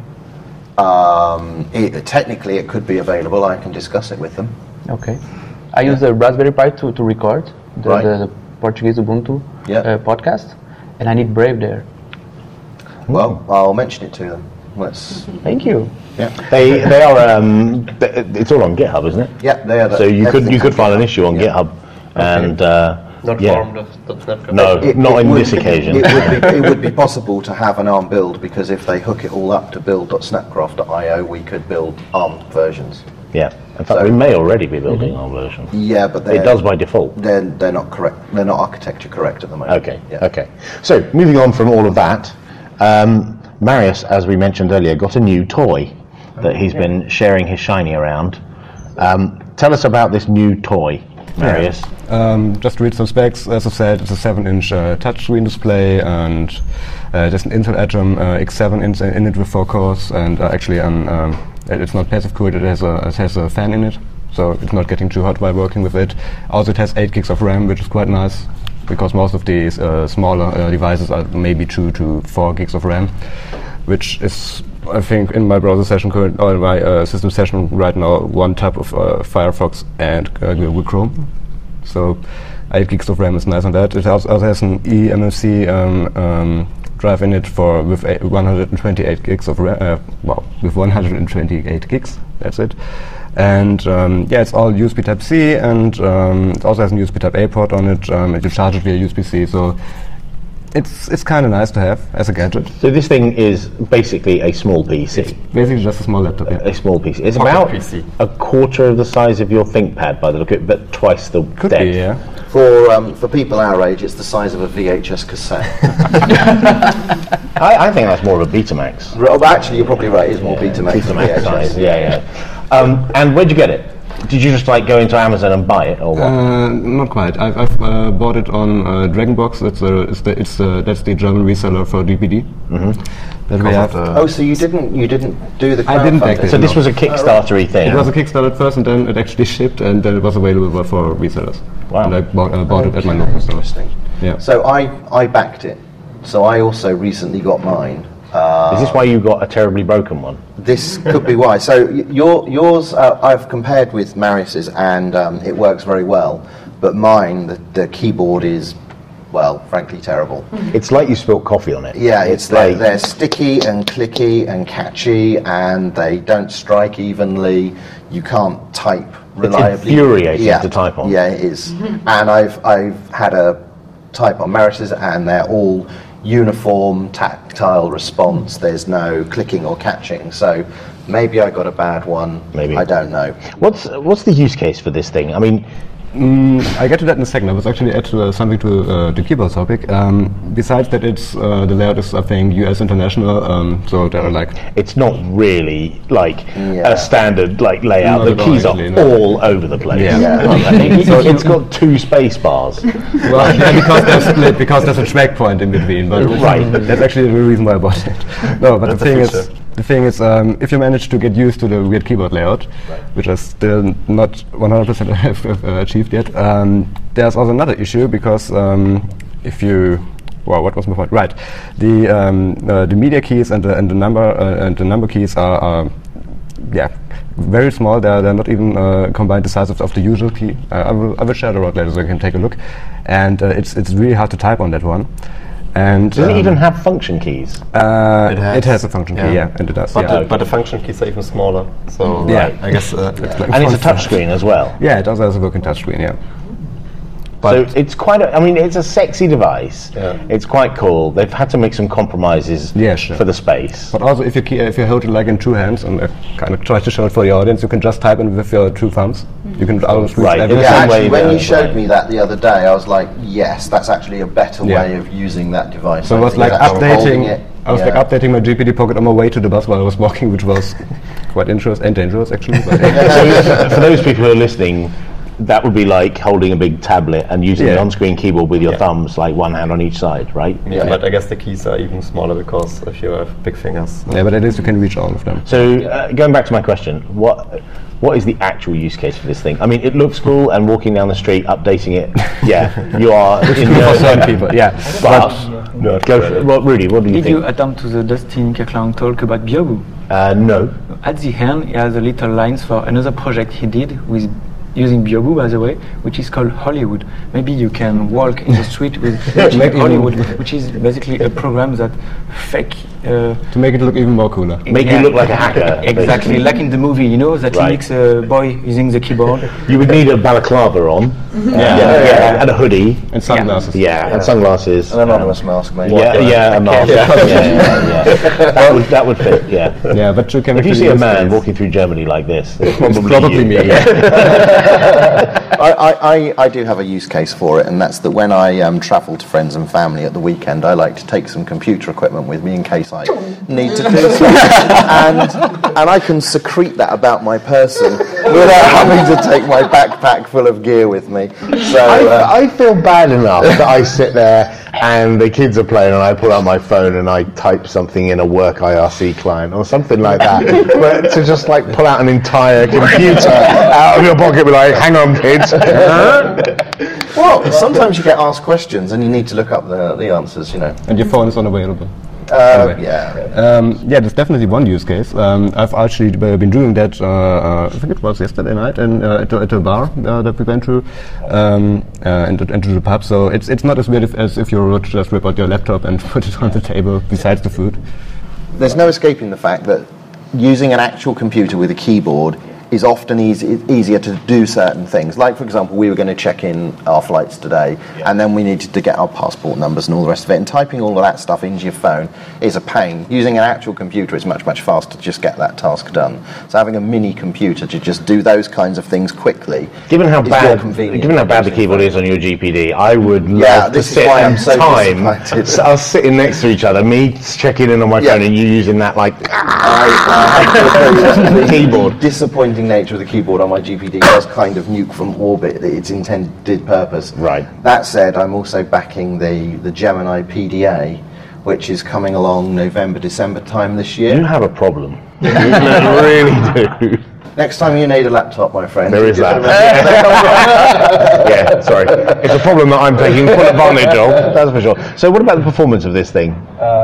Um, it, technically, it could be available. I can discuss it with them. Okay. I use the Raspberry Pi to, to record the, Right. the, the Portuguese Ubuntu Yeah. uh, podcast, and I need Brave there. Well, I'll mention it to them. Let's. Thank you. Yeah. They they are. Um, th- it's all on GitHub, isn't it? Yeah, they are. The, So you could you everything's could on file an GitHub. issue on Yeah. GitHub, and uh, Not yeah. formed of dot net. No, It- not it on would this be- occasion. It would, be, it would be possible to have an ARM build because if they hook it all up to build dot snapcraft dot i o, we could build ARM versions. Yeah. In fact, So- we may already be building our version. Yeah, but they're, It does by default. They're, they're not correct. They're not architecture correct at the moment. Okay. Yeah. Okay. So moving on from all of that, um, Marius, as we mentioned earlier, got a new toy that he's been sharing his shiny around. Um, tell us about this new toy, Marius. Um, just to read some specs, as I said, it's a seven inch uh, touchscreen display, and uh, there's an Intel Atom uh, X seven in, in it with four cores, and uh, actually an, um, it's not passive cooled, it has, a, it has a fan in it, so it's not getting too hot while working with it. Also, it has eight gigs of RAM, which is quite nice, because most of these uh, smaller uh, devices are maybe two to four gigs of RAM, which is, I think, in my browser session, current, or my uh, system session right now, one tab of uh, Firefox and uh, Google Chrome. So eight gigs of RAM is nice on that. It also, also has an E M M C um, um, drive in it for with a one hundred twenty-eight gigs of RAM. Uh, wow, with one hundred twenty-eight gigs. That's it. And um, yeah, it's all U S B Type C, and um, it also has a U S B Type A port on it. Um, and you charge it via U S B C. So it's it's kind of nice to have as a gadget. So this thing is basically a small P C. Basically, just a small laptop. Yeah. A small P C. It's Pocket about P C. a quarter of the size of your ThinkPad by the look of it, but twice the Could depth. be, yeah. For um, for people our age, it's the size of a V H S cassette. I, I think that's more of a Betamax. Well, actually, you're probably right. It's more Betamax than Betamax V H S. size. Yeah, yeah. Um, and where'd you get it? did you just like go into Amazon and buy it, or what? Uh, not quite. I've, I've uh, bought it on uh, Dragonbox. It's, a, it's, the, it's the, that's the German reseller for G P D. Mm-hmm. That we have. Oh, so you didn't you didn't do the I didn't back crowdfunding? then. So this was a Kickstarter-y thing. It was a Kickstarter at first, and then it actually shipped, and then it was available for resellers. Wow. And I bought, uh, bought it at my local store. Interesting. Yeah. So I, I backed it. So I also recently got mine. Uh, Is this why you got a terribly broken one? This could be why. So y- your, yours, uh, I've compared with Marius's, and um, it works very well. But mine, the, the keyboard is, well, frankly terrible. It's like you spilt coffee on it. Yeah, it's, it's they're, like they're sticky and clicky and catchy, and they don't strike evenly. You can't type reliably. infuriating yeah. to type on. Yeah, it is. And I've I've had a type on Marius's, and they're all uniform tactile response. There's no clicking or catching. So maybe I got a bad one. Maybe. I don't know. What's what's the use case for this thing? I mean, Mm, I get to that in a second. I was actually add uh, something to uh, the keyboard topic. Um, besides that, it's uh, the layout is I think U S international, um, so there are like it's not really like Yeah. a standard like layout. Not The at all, keys actually, are no. all over the place. Yeah. Yeah. so it's got two space bars. well, yeah, because there's split, because there's a track point in between. But Right. that's actually the reason why I bought it. No, but the thing is, the thing is, um, if you manage to get used to the weird keyboard layout, which I still not one hundred percent have, have uh, achieved yet, um, there's also another issue because um, if you well, what was my point? Right, the um, uh, the media keys and the and the number uh, and the number keys are, are yeah very small. They're they're not even uh, combined the size of, of the usual key. Uh, I will I will share the road later so you can take a look, and uh, it's it's really hard to type on that one. And Does um, it even have function keys? Uh, It has. it has a function Yeah. key, yeah, and it does. But, yeah. the, but the function keys are even smaller. So yeah, I guess. Uh, it's like And it's a font touch size. screen as well. Yeah, it also has a working touchscreen. Yeah. So it's quite a, I mean, it's a sexy device. Yeah. It's quite cool. They've had to make some compromises Yeah, sure. for the space. But also, if you key, if you hold it like in two hands, and I kind of try to show it for the audience, you can just type in with your two thumbs. You can always reach Right, everything. yeah. Yeah, Same way actually, when that- you showed right. me that the other day, I was like, yes, that's actually a better Yeah. way of using that device. So I was think like that's holding updating. it. I was Yeah. like updating my G P D Pocket on my way to the bus while I was walking, which was quite interesting and dangerous actually. But So for those people who are listening, that would be like holding a big tablet and using Yeah. the on-screen keyboard with your Yeah. thumbs, like one hand on each side, right? yeah, but I guess the keys are even smaller because if you have big fingers. yeah, but at least you can reach all of them. So uh, going back to my question, what what is the actual use case for this thing? I mean, it looks cool, and walking down the street, updating it, yeah, you are in For some the. people, yeah. But go for it. Well, Rudy, what do you Did you think? attend to the Dustin Kirkland talk about Biobu? Uh, no. At the end, he has a little lines for another project he did with using Biobu, by the way, which is called Hollywood. Maybe you can walk in the street with Make Hollywood, which is basically a program that fake. Uh, To make it look even more cooler. Make you yeah, look like a hacker. Exactly, basically. like in the movie, you know, that Right. he makes a boy using the keyboard. You would need a balaclava on, yeah, yeah, and a hoodie, And sunglasses. yeah, and sunglasses. An anonymous mask, maybe. Yeah, yeah, a mask. Yeah, yeah, yeah, yeah. That would that would fit. Yeah. Yeah, but you can If you actually see a use man these. walking through Germany like this, it's probably, probably you. me, I, I, I, I do have a use case for it, and that's that when I um, travel to friends and family at the weekend, I like to take some computer equipment with me in case I need to do something. and, and I can secrete that about my person without having to take my backpack full of gear with me. So uh, I, I feel bad enough that I sit there and the kids are playing and I pull out my phone and I type something in a work I R C client or something like that. But to just like pull out an entire computer out of your pocket and be like, hang on kids. well, sometimes you get asked questions and you need to look up the, the answers, you know. And your phone is unavailable. Uh, Anyway. yeah. Um, yeah, there's definitely one use case. Um, I've actually b- been doing that, uh, uh, I think it was yesterday night in, uh, at, a, at a bar uh, that we went to, um, uh, and, and to the pub. So it's it's not as weird if, as if you were to just rip out your laptop and put it on the table besides the food. There's no escaping the fact that using an actual computer with a keyboard is often easy, easier to do certain things. Like, for example, we were going to check in our flights today, and then we needed to get our passport numbers and all the rest of it, and typing all of that stuff into your phone is a pain. Using an actual computer is much, much faster to just get that task done. So having a mini computer to just do those kinds of things quickly Given how is more bad, convenient given how than bad the using keyboard phone. is on your G P D, I would Yeah, love to this is sit why I'm and so time disappointed. s- us sitting next to each other, me checking in on my Yeah. phone and you using that like I, I have to agree that the keyboard. disappointing moving nature of the keyboard on my G P D does kind of nuke from orbit its intended purpose. Right. That said, I'm also backing the, the Gemini P D A, which is coming along November, December time this year. You have a problem. You really do. Next time you need a laptop, my friend. There is give that. it a- Yeah, sorry. It's a problem that I'm taking full advantage of, that's for sure. So what about the performance of this thing?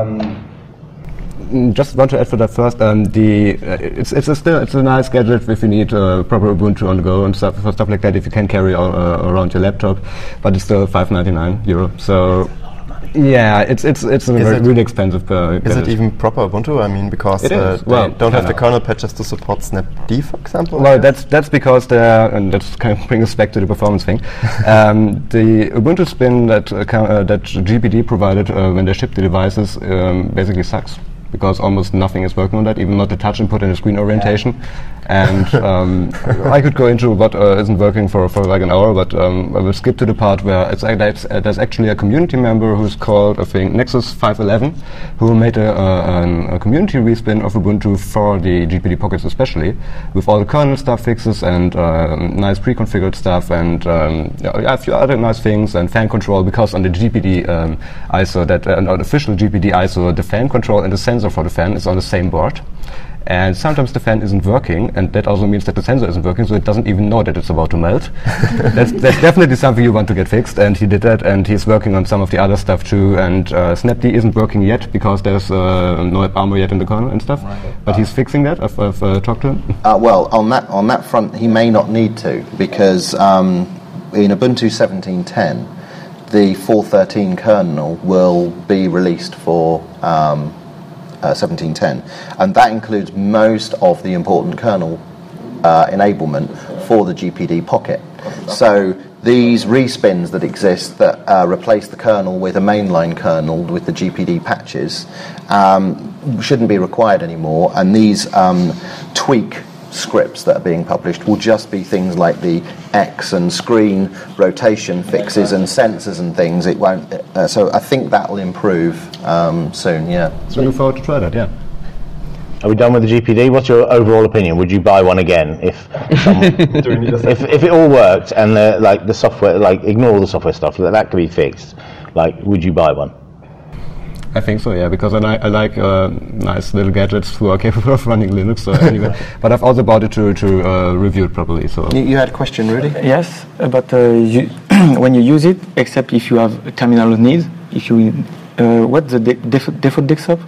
Mm, Just want to add for that first. Um, the uh, it's it's a still it's a nice gadget if you need uh, proper Ubuntu on the go and stuff for stuff like that. If you can carry uh, around your laptop, but it's still five ninety-nine euro. So yeah, it's it's it's a Is very, it- really expensive. Uh, Is gadget. it even proper Ubuntu? I mean, because It uh, is. they Well, don't have the kinda. kernel patches to support snapd, for example. Well, that's that's because the and that's kind of bring us back to the performance thing. um, the Ubuntu spin that uh, ca- uh, that G P D provided uh, when they shipped the devices um, basically sucks, because almost nothing is working on that, even not the touch input and the screen orientation. And um, I could go into what uh, isn't working for, for like an hour, but um, I will skip to the part where it's, uh, that's, uh, there's actually a community member who's called, I think, Nexus five eleven, who made a, uh, an, a community respin of Ubuntu for the G P D Pockets especially, with all the kernel stuff fixes and um, nice pre-configured stuff and um, yeah, a few other nice things and fan control, because on the G P D um, I S O, that uh, on the official G P D I S O, the fan control and the sensor for the fan is on the same board. And sometimes the fan isn't working, and that also means that the sensor isn't working, so it doesn't even know that it's about to melt. that's, that's definitely something you want to get fixed, and he did that, and he's working on some of the other stuff too. And uh, snapd isn't working yet because there's uh, no app armor yet in the kernel and stuff. Right. But he's fixing that. I've, I've uh, talked to him. Uh, well, on that on that front, he may not need to, because um, in Ubuntu seventeen ten, the four thirteen kernel will be released for um, uh, seventeen ten, and that includes most of the important kernel uh, enablement for the G P D Pocket. So these respins that exist that uh, replace the kernel with a mainline kernel with the G P D patches um, shouldn't be required anymore, and these um, tweak scripts that are being published will just be things like the X and screen rotation fixes and sensors and things. It won't. Uh, so I think that will improve um, soon. Yeah. So looking forward to try that. Yeah. Are we done with the G P D? What's your overall opinion? Would you buy one again if some, if, if it all worked and the, like the software, like ignore all the software stuff, that, that could be fixed? Like, would you buy one? I think so, yeah, because I, li- I like uh, nice little gadgets who are capable of running Linux. So anyway, but I've also bought it to to uh, review it properly. So You, you had a question, Rudy? Yes, uh, but uh, you when you use it, except if you have a terminal needs, if you uh, what's the de- def- default desktop?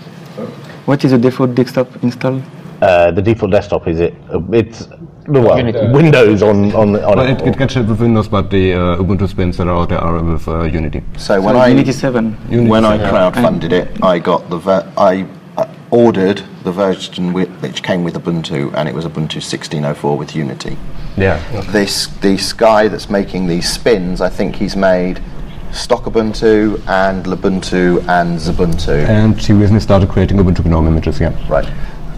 What is the default desktop installed? Uh, the default desktop is it? Uh, it's well, Unity. Windows on on on well, it, it can ship with Windows, but the uh, Ubuntu spins that are out there are with uh, Unity. So when So I Unity seven. Unity when I seven. crowdfunded it, I got the ver- I uh, ordered the version wi- which came with Ubuntu, and it was Ubuntu sixteen oh four with Unity. Yeah. This this guy that's making these spins, I think he's made stock Ubuntu and Lubuntu and Xubuntu. And she recently started creating Ubuntu GNOME images. Yeah. Right.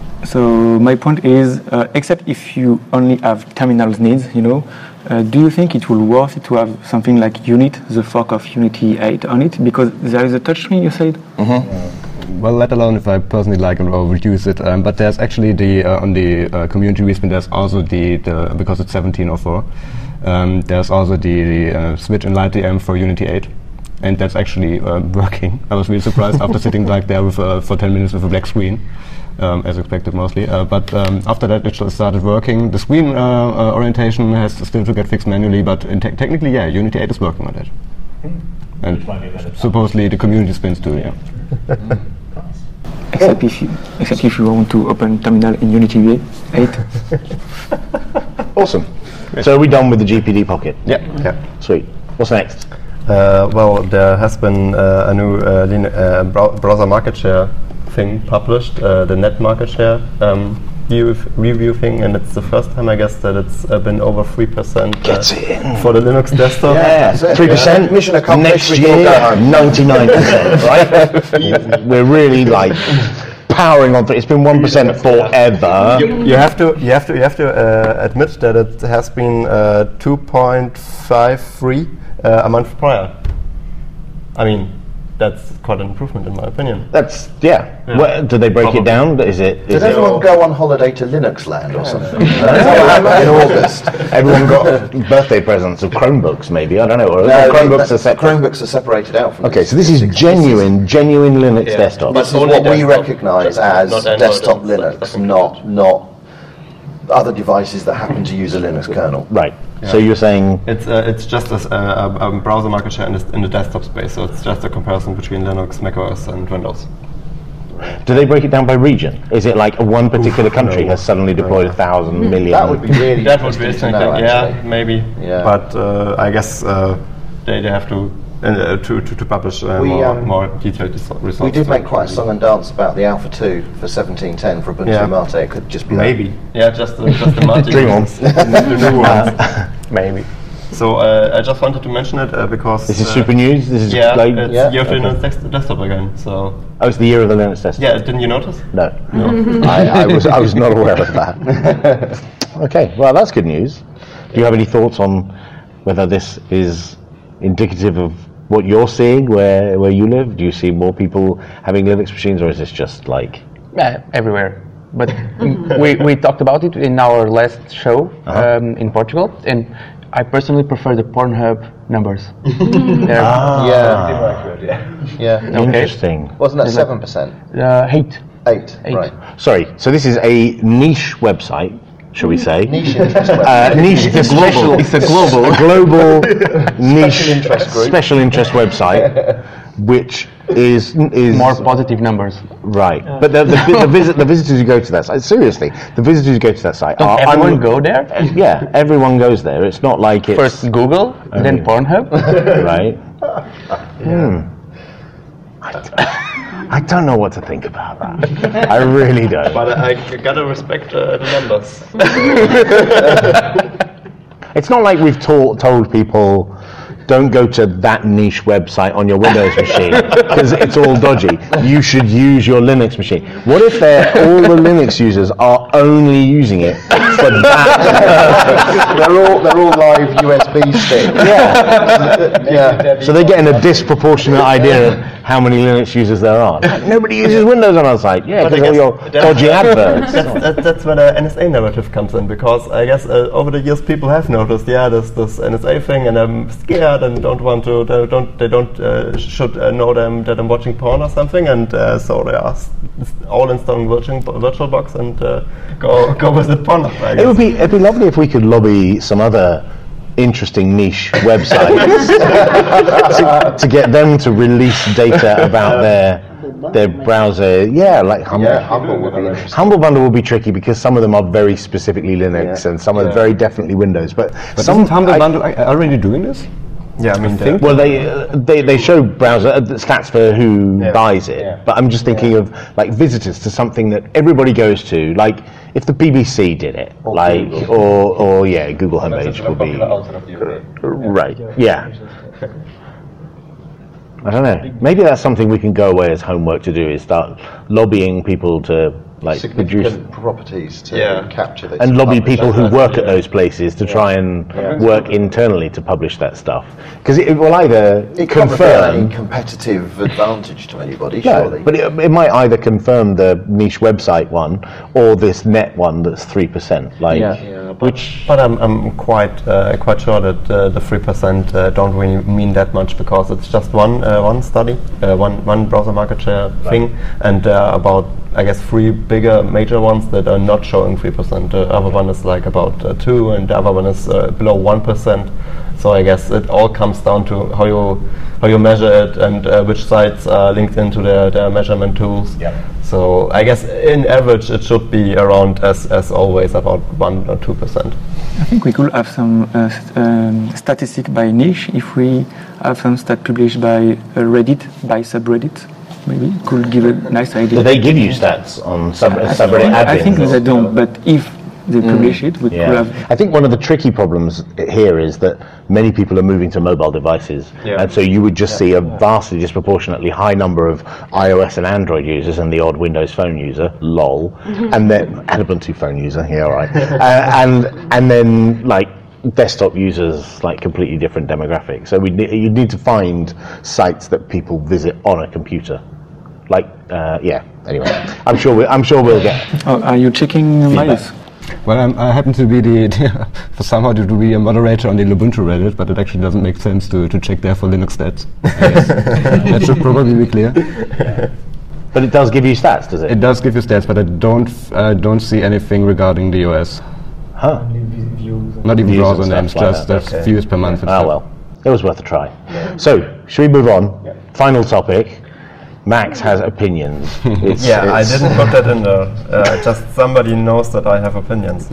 So my point is, uh, except if you only have terminals needs, you know, uh, do you think it will worth it to have something like Unit, the fork of Unity eight on it? Because there is a touchscreen, you said? Well, let alone if I personally like it or would use it. Um, but there's actually the uh, on the uh, community respin. There's also the, the because it's seventeen oh four. Um, there's also the, the uh, switch in LightDM for Unity eight, and that's actually uh, working. I was really surprised after sitting like there with, uh, for ten minutes with a black screen, um, as expected mostly. Uh, but um, after that, it just started working. The screen uh, uh, orientation has still to get fixed manually, but in te- technically, yeah, Unity eight is working on that. And supposedly the community spins too. Yeah. Except if you, except if you want to open terminal in Unity eight. Awesome. So are we done with the G P D Pocket? Yeah. Yeah. Sweet. What's next? Uh, well, there has been uh, a new uh, lin- uh, brow- browser market share thing published, uh, the net market share um, view- review thing, and it's the first time, I guess, that it's uh, been over three percent uh, Gets it in. for the Linux desktop. Yeah, three percent. Mission accomplished. Next We can year, go home. ninety-nine percent. Right? We're really like powering on. For, it's been one percent forever. You, you have to, you have to, you have to uh, admit that it has been uh, two point five three uh, a month prior. I mean, that's quite an improvement in my opinion. That's yeah. Yeah. What, do they break Probably. it down? Is it? Is Did it everyone go on holiday to Linux land or something? in August. everyone got birthday presents of Chromebooks? Maybe I don't know. Or No, Chromebooks the- are separate. Chromebooks are separated out from Okay, this. so this is This genuine, genuine Linux Yeah. desktop. This is Only what we desktop, recognise not as Android desktop and stuff Linux, like not not other devices that happen to use a Linux kernel. Right. So you're saying It's uh, it's just a, s- a- a- a browser market share in the, in the desktop space, so it's just a comparison between Linux, macOS, and Windows. do they break it down by region? Is it like one particular country has suddenly deployed a thousand million? That would be really That would be interesting interesting. to know, Yeah, actually. maybe. Yeah. But uh, I guess uh, they, they have to uh, to, to to publish uh, We, more, um, more detailed res- results. We did make quite a song and dance about the Alpha two for seventeen ten for Ubuntu Yeah. Mate. It could just be that. Maybe. Yeah, just the, just the Mate Dream on. versions, the new ones. Maybe. So uh, I just wanted to mention it uh, because This is uh, super news. This is Yeah, like it's Yeah. year of the Linux desk- desktop again. So oh, it's the year of the Linux desktop. yeah, didn't you notice? No, I, I was I was not aware of that. Okay, well that's good news. Do you have any thoughts on whether this is indicative of what you're seeing where where you live? Do you see more people having Linux machines, or is this just like Uh, everywhere. But we, we talked about it in our last show Uh-huh. um, in Portugal, and I personally prefer the Pornhub numbers. They're Yeah. Yeah. interesting? Wasn't that seven percent? uh, eight. Eight. Eight. Right. Sorry, so this is a niche website, shall we say? Niche interest. Uh, niche. It's a global. It's a global. A global niche interest group. special interest website, which is is More positive numbers. right. But the the, the, visit, the visitors who go to that site, seriously, the visitors who go to that site Don't are everyone un- go there? Yeah, everyone goes there. It's not like it's First Google, then Pornhub. right. Hmm. I, d- I don't know what to think about that. I really don't. But I, I gotta respect uh, the numbers. It's not like we've taught, told people don't go to that niche website on your Windows machine because it's all dodgy. You should use your Linux machine. What if they're, all the Linux users are only using it for that? they're all they're all live U S B sticks. Yeah. Yeah. So they're getting a disproportionate idea of how many Linux users there are. Nobody uses Windows on our site. Yeah, But I because all guess your that's- dodgy adverts. that's, that, that's where the N S A narrative comes in, because I guess uh, over the years people have noticed, yeah, this this N S A thing, and I'm scared and don't want to, they don't they don't uh, should uh, know them that I'm watching porn or something, and uh, so they are s- all installing virtual VirtualBox and uh, go go visit porn. I It guess. would be it'd be lovely if we could lobby some other interesting niche websites to, to get them to release data about their their browser. Yeah, like Humble. Yeah, Humble would be interesting. Humble Bundle will be tricky because some of them are very specifically Linux Yeah. and some are very definitely Windows. But, But some isn't Humble I- Bundle a- already doing this? Yeah, I mean, think- the- Well, they uh, they they show browser uh, the stats for who buys it, but I'm just thinking of like visitors to something that everybody goes to. Like if the B B C did it, like or or yeah, Google homepage would be right. Yeah. I don't know. Maybe that's something we can go away as homework to do is start lobbying people to like produce Significant properties to Yeah. capture this. and lobby publish people that. who work at those places to try and work internally to publish that stuff because it, it will either It can't reveal any confirm. competitive advantage to anybody, No, surely. but it, it might either confirm the niche website one or this net one that's three percent. Like, which But I'm, I'm quite uh, quite sure that uh, the three percent uh, don't really mean that much, because it's just one uh, one study, uh, one one browser market share thing, and uh, about I guess three bigger major ones that are not showing three percent. The other one is like about uh, two, and the other one is uh, below one percent. So I guess it all comes down to how you how you measure it and uh, which sites are linked into their, their measurement tools. So I guess in average it should be around as as always about one or two percent. I think we could have some uh, st- um, statistic by niche if we have some stat published by uh, Reddit, by subreddit. Maybe could give a nice idea. do they give you stats on sub, I subreddit think, I admins? think they don't, but if they publish it, we could Yeah. have. I think one of the tricky problems here is that many people are moving to mobile devices, Yeah. and so you would just see a vastly disproportionately high number of iOS and Android users and the odd Windows Phone user, lol, and then and Ubuntu phone user, yeah, all right, uh, and and then like desktop users, like completely different demographics. So we ne- you need to find sites that people visit on a computer. Like, uh, yeah. Anyway, I'm sure we, I'm sure we'll get. Oh, are you checking Miles? Well, I'm, I happen to be the for somehow to be a moderator on the Ubuntu Reddit, but it actually doesn't make sense to, to check there for Linux stats. That should probably be clear. But it does give you stats, does it? It does give you stats, but I don't I don't see anything regarding the O S. Huh? Not even Views browser and names, stuff like just that. that's Okay. views per month. and Ah stuff. well, it was worth a try. So, should we move on? Final topic. Max has opinions. It's, Yeah, I it's- didn't put that in there. Uh, just somebody knows that I have opinions.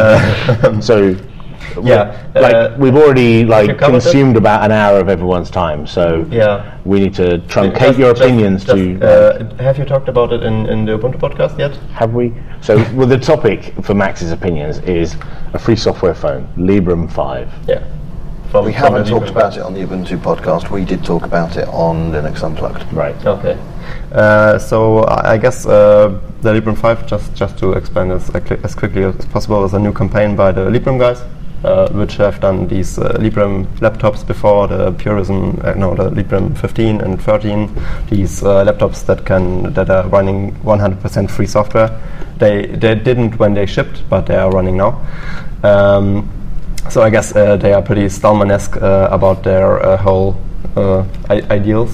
Uh, So, Yeah, like uh, we've already you like covered it? consumed about an hour of everyone's time. So yeah. we need to truncate Just- your just- opinions just, to. Uh, have you talked about it in, in the Ubuntu podcast yet? Have we? So, well, the topic for Max's opinions is a free software phone, Librem five. Yeah. From, We from haven't the talked Librem about it on the Ubuntu podcast. We did talk about it on Linux Unplugged. Right. Okay. Uh, so I I guess uh, the Librem five, just just to explain as, as quickly as possible, is a new campaign by the Librem guys, uh, which have done these uh, Librem laptops before, the Purism, uh, no, the Librem fifteen and thirteen, these uh, laptops that can that are running one hundred percent free software. They they didn't when they shipped, but they are running now. Um, so I guess uh, they are pretty Stallman-esque uh, about their uh, whole uh, I- ideals.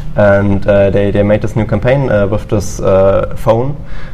And uh, they, they made this new campaign uh, with this uh, phone.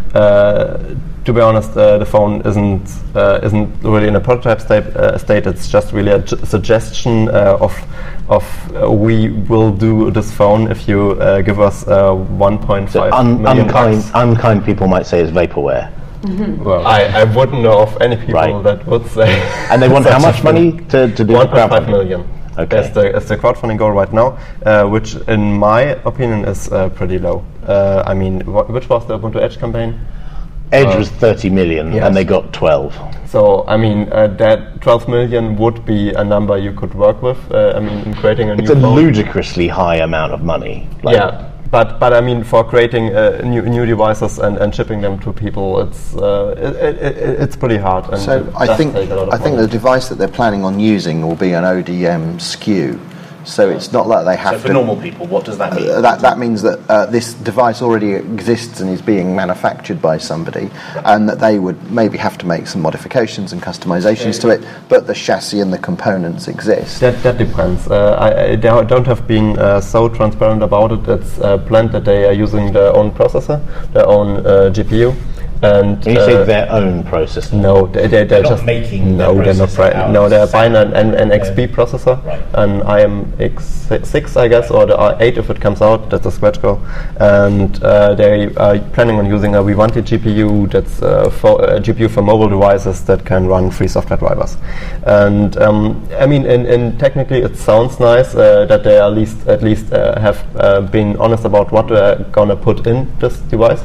Uh, to be honest, uh, the phone isn't uh, isn't really in a prototype state. Uh, state. It's just really a j- suggestion uh, of of uh, we will do this phone if you uh, give us uh, one point So five un- million unkind, bucks. unkind people might say it's vaporware. Well, I, I wouldn't know of any people Right. that would say. And they want such how a much thing. money to, to do the one point five crowdfunding? million. Okay. That's the, that's the crowdfunding goal right now, uh, which in my opinion is uh, pretty low. Uh, I mean, wh- which was the Ubuntu Edge campaign? Edge was thirty million yes. and they got twelve. So, I mean, uh, that twelve million would be a number you could work with. Uh, I mean, in creating a It's new a phone. ludicrously high amount of money. Like, Yeah, but but I mean, for creating uh, new new devices and, and shipping them to people, it's uh, it, it, it, it's pretty hard. And So it I does think take a lot of I think money. the device that they're planning on using will be an O D M S K U. So it's not like they have So for to. normal people, what does that mean? Uh, that that means that uh, this device already exists and is being manufactured by somebody, and that they would maybe have to make some modifications and customizations to it, but the chassis and the components exist. That, that depends. Uh, I, I they don't have been uh, so transparent about it. It's uh, planned that they are using their own processor, their own uh, G P U. And When you uh, say their own processor. no, they, they, they're, not just making no, their they're not processor right. out No, of they're SAP. buying an, an, an X P Okay. processor, Right. an I M X six, I guess, or the R eight if it comes out. That's a scratch go, and uh, they are planning on using a Vivanti G P U. That's uh, for, a G P U for mobile devices that can run free software drivers. And um, I mean, in, in technically, it sounds nice uh, that they at least at least uh, have uh, been honest about what they're gonna put in this device.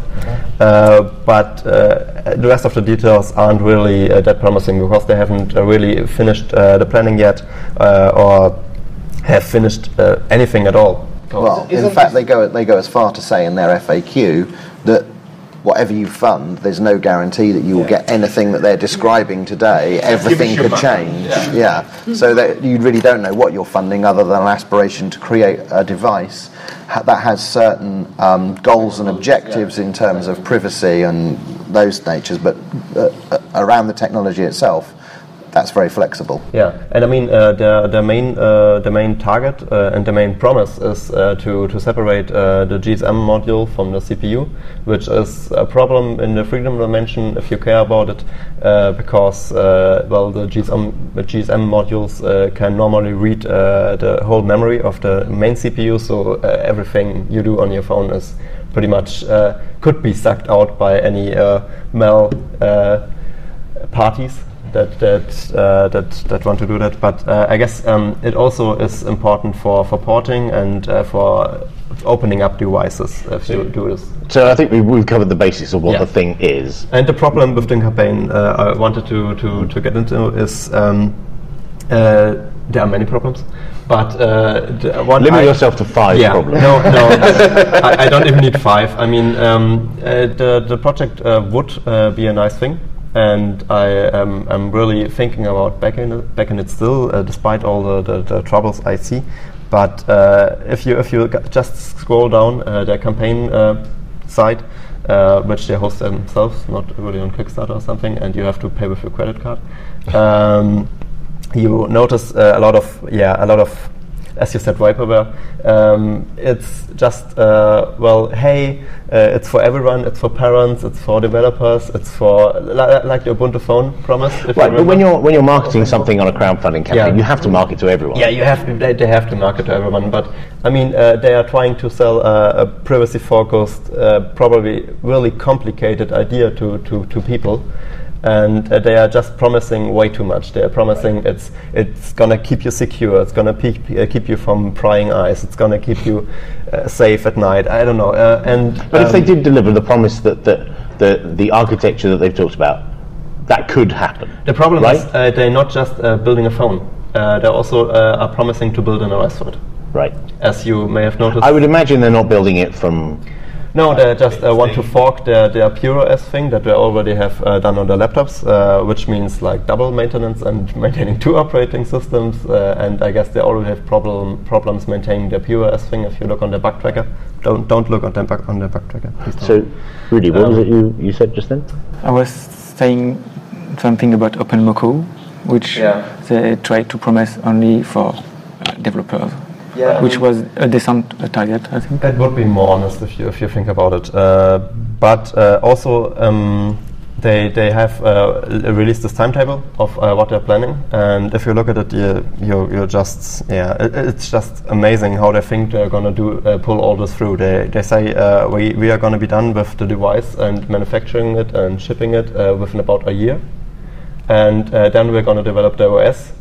Uh, but uh, the rest of the details aren't really uh, that promising because they haven't uh, really finished uh, the planning yet, uh, or have finished uh, anything at all. Well, in fact, they go they go as far to say in their F A Q that whatever you fund, there's no guarantee that you will get anything that they're describing today. Everything could change. Yeah. So that you really don't know what you're funding, other than an aspiration to create a device ha- that has certain um, goals and objectives in terms of privacy and those natures, but uh, uh, around the technology itself, that's very flexible. Yeah, and I mean uh, the the main uh, the main target uh, and the main promise is uh, to to separate uh, the G S M module from the C P U, which is a problem in the freedom dimension if you care about it, uh, because uh, well the G S M the G S M modules uh, can normally read uh, the whole memory of the main C P U, so uh, everything you do on your phone is pretty much uh, could be sucked out by any uh, mal uh, parties that that uh, that that want to do that. But uh, I guess um, it also is important for, for porting and uh, for opening up devices if you do this. So I think we've, we've covered the basics of what Yeah. the thing is. And the problem with the campaign uh, I wanted to, to, to get into is um, uh, there are many problems. But uh, the one Limit I- yourself to five yeah, problems. No, no, I, I don't even need five. I mean, um, uh, the the project uh, would uh, be a nice thing and I am I'm really thinking about backing it, backing it still, uh, despite all the, the, the troubles I see. But uh, if you if you g- just scroll down uh, their campaign uh, site, uh, which they host themselves, not really on Kickstarter or something, and you have to pay with your credit card, um, you notice uh, a lot of yeah a lot of, as you said, vaporware. Um, it's just, uh, well, hey, uh, it's for everyone, it's for parents, it's for developers, it's for, li- like the Ubuntu phone promise. If Right, you but when remember. you're when you're marketing something on a crowdfunding campaign, Yeah. you have to market to everyone. Yeah, you have to, they, they have to market to everyone, but I mean, uh, they are trying to sell uh, a privacy-focused, uh, probably really complicated idea to, to, to people. And uh, they are just promising way too much. They are promising it's it's gonna keep you secure. It's gonna pe- uh, keep you from prying eyes. It's gonna keep you uh, safe at night. I don't know. Uh, and But um, if they did deliver the promise that the, the the architecture that they've talked about, that could happen. the problem right? is uh, they're not just uh, building a phone. Uh, they also uh, are promising to build an O S for it. Right. As you may have noticed. I would imagine they're not building it from. No, they just uh, want to fork their, their PureOS thing that they already have uh, done on their laptops, uh, which means like double maintenance and maintaining two operating systems. Uh, and I guess they already have problem problems maintaining their PureOS thing. If you look on their bug tracker, don't don't look on their bug on their bug tracker. Please don't. So, Rudy, what Um, was it you, you said just then? I was saying something about OpenMoko, which Yeah. they try to promise only for uh, developers, Yeah, I which mean- was a decent uh, target, I think. That would be more honest if you if you think about it. Uh, but uh, also, um, they they have uh, l- released this timetable of uh, what they're planning, and if you look at it, you you you're just yeah, it, it's just amazing how they think they're gonna do uh, pull all this through. They they say uh, we we are gonna be done with the device and manufacturing it and shipping it uh, within about a year, and uh, then we're gonna develop the O S.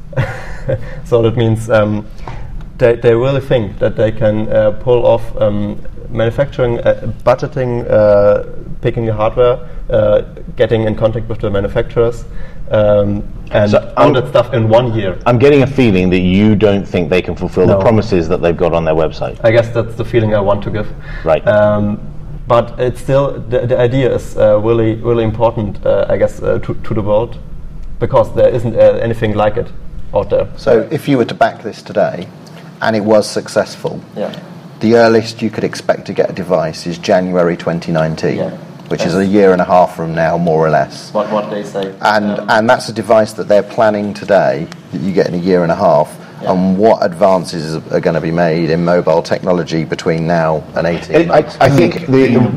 So that means. Um, They, they really think that they can uh, pull off um, manufacturing, uh, budgeting, uh, picking the hardware, uh, getting in contact with the manufacturers, um, and So all I'm- that stuff in one year. I'm getting a feeling that you don't think they can fulfill No. the promises that they've got on their website. I guess that's the feeling I want to give. Right. Um, but it's still the, the idea is uh, really really important. Uh, I guess uh, to to the world, because there isn't uh, anything like it out there. So if you were to back this today, and it was successful, Yeah. the earliest you could expect to get a device is January twenty nineteen, Yeah. which is a year and a half from now, more or less. What what they say. And Um, and that's a device that they're planning today that you get in a year and a half. Yeah. And what advances are going to be made in mobile technology between now and eighteen I, months? I think the, the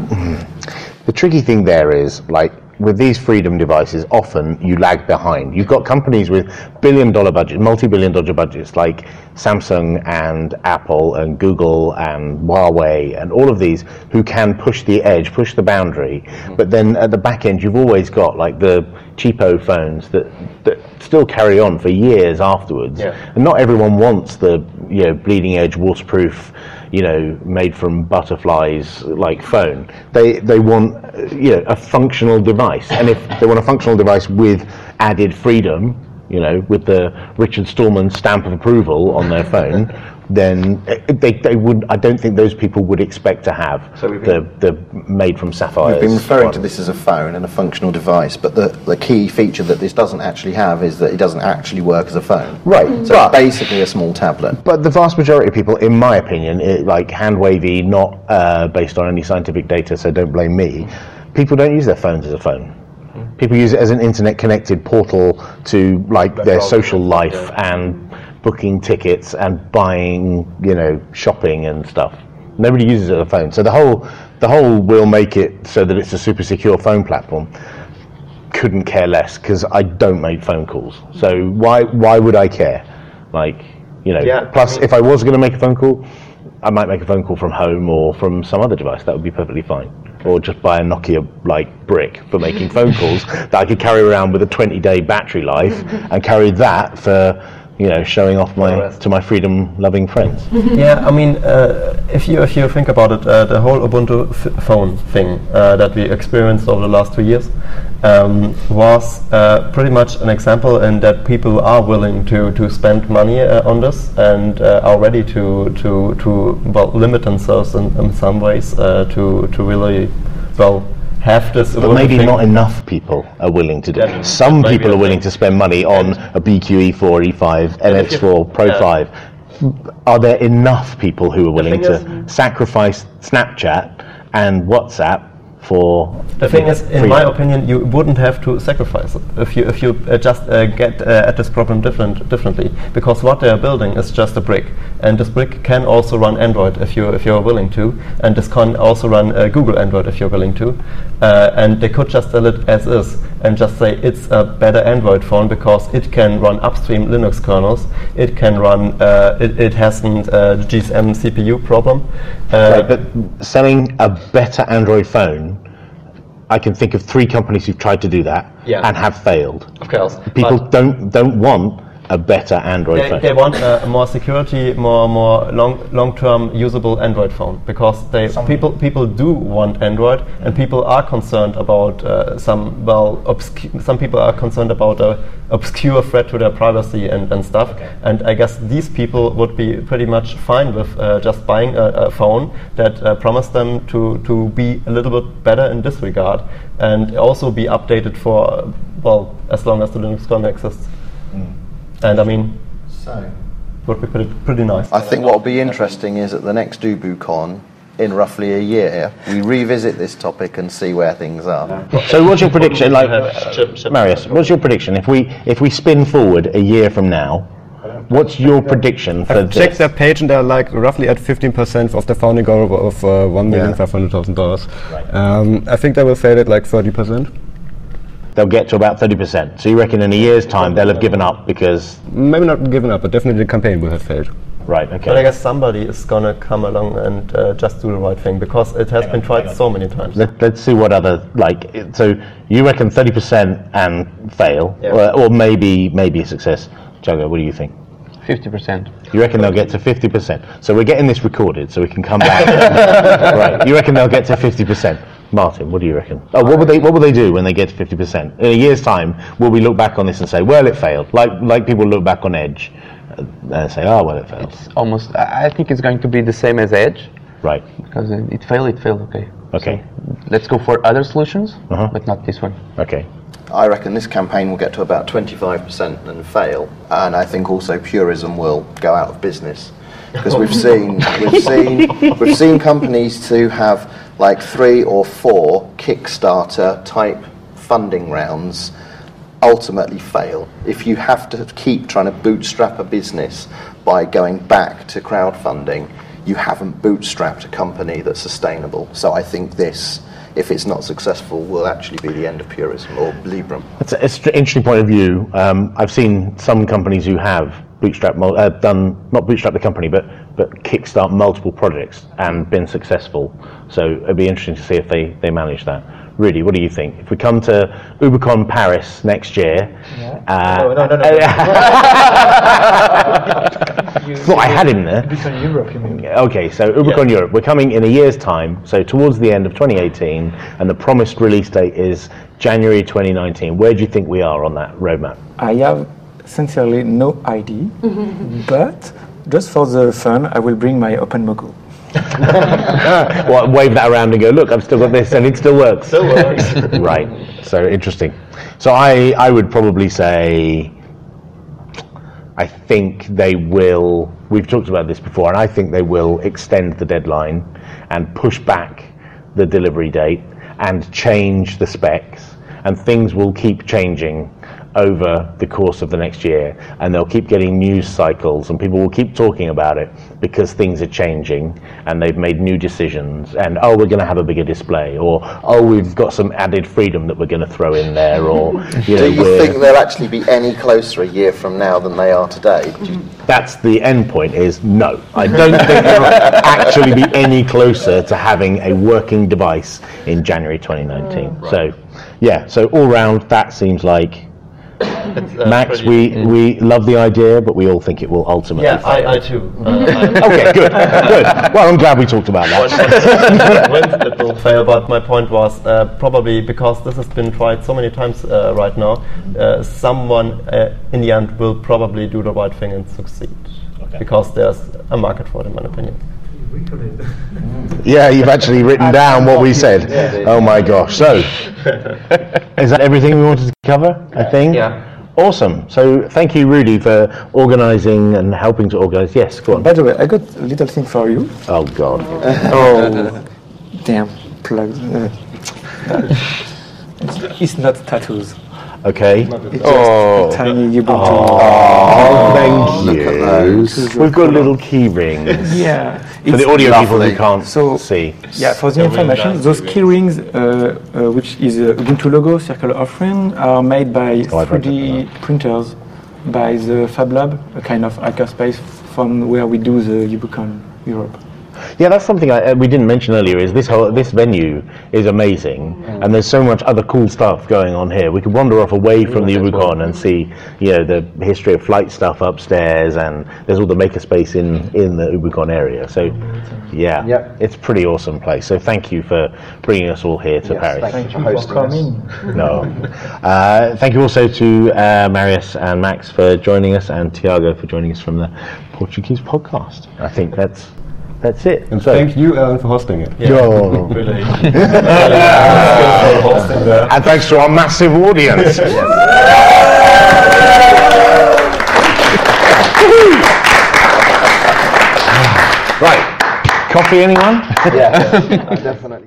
the tricky thing there is, like, with these freedom devices, often you lag behind. You've got companies with billion-dollar budgets, multi-billion dollar budgets, like Samsung and Apple and Google and Huawei and all of these, who can push the edge, push the boundary. But then at the back end, you've always got like the cheapo phones that, that still carry on for years afterwards. Yeah. And not everyone wants the, you know, bleeding-edge, waterproof, you know, made from butterflies like phone. They they want, uh, you know, a functional device, and if they want a functional device with added freedom, you know, with the Richard Stallman stamp of approval on their phone, then uh, they they would. I don't think those people would expect to have So we've the the made from sapphires. We've been referring one. to this as a phone and a functional device, but the, the key feature that this doesn't actually have is that it doesn't actually work as a phone. Right, So but- it's basically a small tablet. But the vast majority of people, in my opinion, it, like hand wavy, not uh, based on any scientific data, so don't blame me. People don't use their phones as a phone. People use it as an internet-connected portal to like their social life and booking tickets and buying, you know, shopping and stuff. Nobody uses it as a phone. So the whole the whole will make it so that it's a super secure phone platform. Couldn't care less, because I don't make phone calls. So why why would I care? Like, you know. Yeah, plus, I mean- if I was going to make a phone call, I might make a phone call from home or from some other device. That would be perfectly fine. Or just buy a Nokia like brick for making phone calls that I could carry around with a twenty day battery life and carry that for, you know, showing off my to my freedom-loving friends. Yeah, I mean, uh, if you if you think about it, uh, the whole Ubuntu f- phone thing uh, that we experienced over the last two years um, was uh, pretty much an example in that people are willing to, to spend money uh, on this and uh, are ready to to to well limit themselves in, in some ways uh, to to really well have this. But maybe thing. Not enough people are willing to do it. Yeah, some people are willing to spend money on a B Q E four, E five, M X four, Pro yeah. five. Are there enough people who are willing to is, sacrifice Snapchat and WhatsApp for the thing is, in my opinion, you wouldn't have to sacrifice it if you if you uh, just uh, get uh, at this problem different differently, because what they are building is just a brick, and this brick can also run Android if you if you're willing to, and this can also run uh, Google Android if you're willing to, uh, and they could just sell it as is and just say it's a better Android phone because it can run upstream Linux kernels, it can run uh, it, it hasn't uh, the G S M C P U problem. Uh, right, but selling a better Android phone, I can think of three companies who've tried to do that yeah. and have failed. Of course. People don't don't want a better Android they, phone. They want a more security, more more long long term usable Android phone, because they some people people do want Android, and people are concerned about uh, some well obscu- some people are concerned about a obscure threat to their privacy and, and stuff. Okay. And I guess these people would be pretty much fine with uh, just buying a, a phone that uh, promised them to to be a little bit better in this regard, and also be updated for well as long as the Linux kernel exists. Mm. And I mean, so would be pretty, pretty nice. I think what will be interesting is at the next UbuCon, in roughly a year, we revisit this topic and see where things are. So, what's your prediction? Like, uh, Marius, what's your prediction? If we if we spin forward a year from now, what's your prediction for I've this? checked their page and they're like roughly at fifteen percent of the founding goal of uh, one million five hundred thousand dollars. Um, I think they will say that like thirty percent. They'll get to about thirty percent. So you reckon in a year's time they'll have given up because... Maybe not given up, but definitely the campaign will have failed. Right, okay. But I guess somebody is going to come along and uh, just do the right thing, because it has hang been on, tried so many times. Let, let's see what other... like. It, so you reckon thirty percent and fail, yeah. or, or maybe maybe a success. Jago, what do you think? fifty percent. You reckon they'll get to fifty percent? So we're getting this recorded so we can come back. Right, you reckon they'll get to fifty percent? Martin, what do you reckon? Oh, what will they what will they do when they get to fifty percent? In a year's time, will we look back on this and say, well, it failed? Like like people look back on Edge and say, oh, well, it failed. It's almost, I think it's going to be the same as Edge. Right. Because it failed, it failed, okay. Okay. So let's go for other solutions, uh-huh. but not this one. Okay. I reckon this campaign will get to about twenty-five percent and fail, and I think also Purism will go out of business, because we've seen we've seen we've seen companies to have like three or four Kickstarter type funding rounds ultimately fail. If you have to keep trying to bootstrap a business by going back to crowdfunding, you haven't bootstrapped a company that's sustainable. So I think this, if it's not successful, will actually be the end of Purism or Librem. That's an st- interesting point of view. Um, I've seen some companies who have bootstrap, mul- uh, done not bootstrap the company, but but kickstart multiple projects and been successful. So it'd be interesting to see if they, they manage that. Rudy, what do you think? If we come to UbuCon Paris next year, yeah. uh, no, no, no, no. Thought I had him there. UbuCon Europe, you mean? Okay, so UbuCon yeah. Europe, we're coming in a year's time, so towards the end of twenty eighteen, and the promised release date is January twenty nineteen. Where do you think we are on that roadmap? I have sincerely no idea, but just for the fun, I will bring my OpenMogul. Well, wave that around and go, look, I've still got this, and it still works. Still works. Right, so interesting. So I, I would probably say, I think they will, we've talked about this before, and I think they will extend the deadline and push back the delivery date and change the specs, and things will keep changing over the course of the next year, and they'll keep getting news cycles, and people will keep talking about it because things are changing and they've made new decisions, and oh, we're going to have a bigger display, or oh, we've got some added freedom that we're going to throw in there, or you know, do you think they'll actually be any closer a year from now than they are today? Do you... That's the end point, is no. I don't think they'll actually be any closer to having a working device in January twenty nineteen. Mm, right. So yeah, so all round that seems like Uh, Max, we, mm. we love the idea, but we all think it will ultimately yeah, fail. I, I too. Uh, I okay, good, good. Well, I'm glad we talked about that. When it will fail, but my point was uh, probably because this has been tried so many times uh, right now, uh, someone uh, in the end will probably do the right thing and succeed. Okay. Because there's a market for it, in my opinion. Yeah, you've actually written down what we said. Oh my gosh. So, is that everything we wanted to cover, I think? Yeah. Awesome. So, thank you, Rudy, for organising and helping to organise. Yes, go on. By the way, I got a little thing for you. Oh, God. Oh, damn, plugs. Uh, it's not tattoos. Okay. It's Oh. just a tiny Ubuntu. Oh, thank look at you. those. We've got little key rings. Yeah. For the It's audio people lovely. who can't So- see. Yeah, for the information, those key rings, uh, uh, which is a Ubuntu logo, circle offering, are made by Oh, I'd three like D printers by the Fab Lab, a kind of hackerspace from where we do the UbuCon Europe. Yeah, that's something I, uh, we didn't mention earlier. Is this whole this venue is amazing, and there's so much other cool stuff going on here. We could wander off away from the UbuCon and see, you know, the history of flight stuff upstairs, and there's all the makerspace in in the UbuCon area. So, yeah, Yep. it's a pretty awesome place. So thank you for bringing us all here to Yes, Paris. thank you for hosting us. No. Uh, thank you also to uh, Marius and Max for joining us, and Tiago for joining us from the Portuguese podcast. I think that's that's it. And So- thank you, Alan, for hosting it. Yo. Really. And thanks to our massive audience. Right. Coffee, anyone? Yeah, definitely.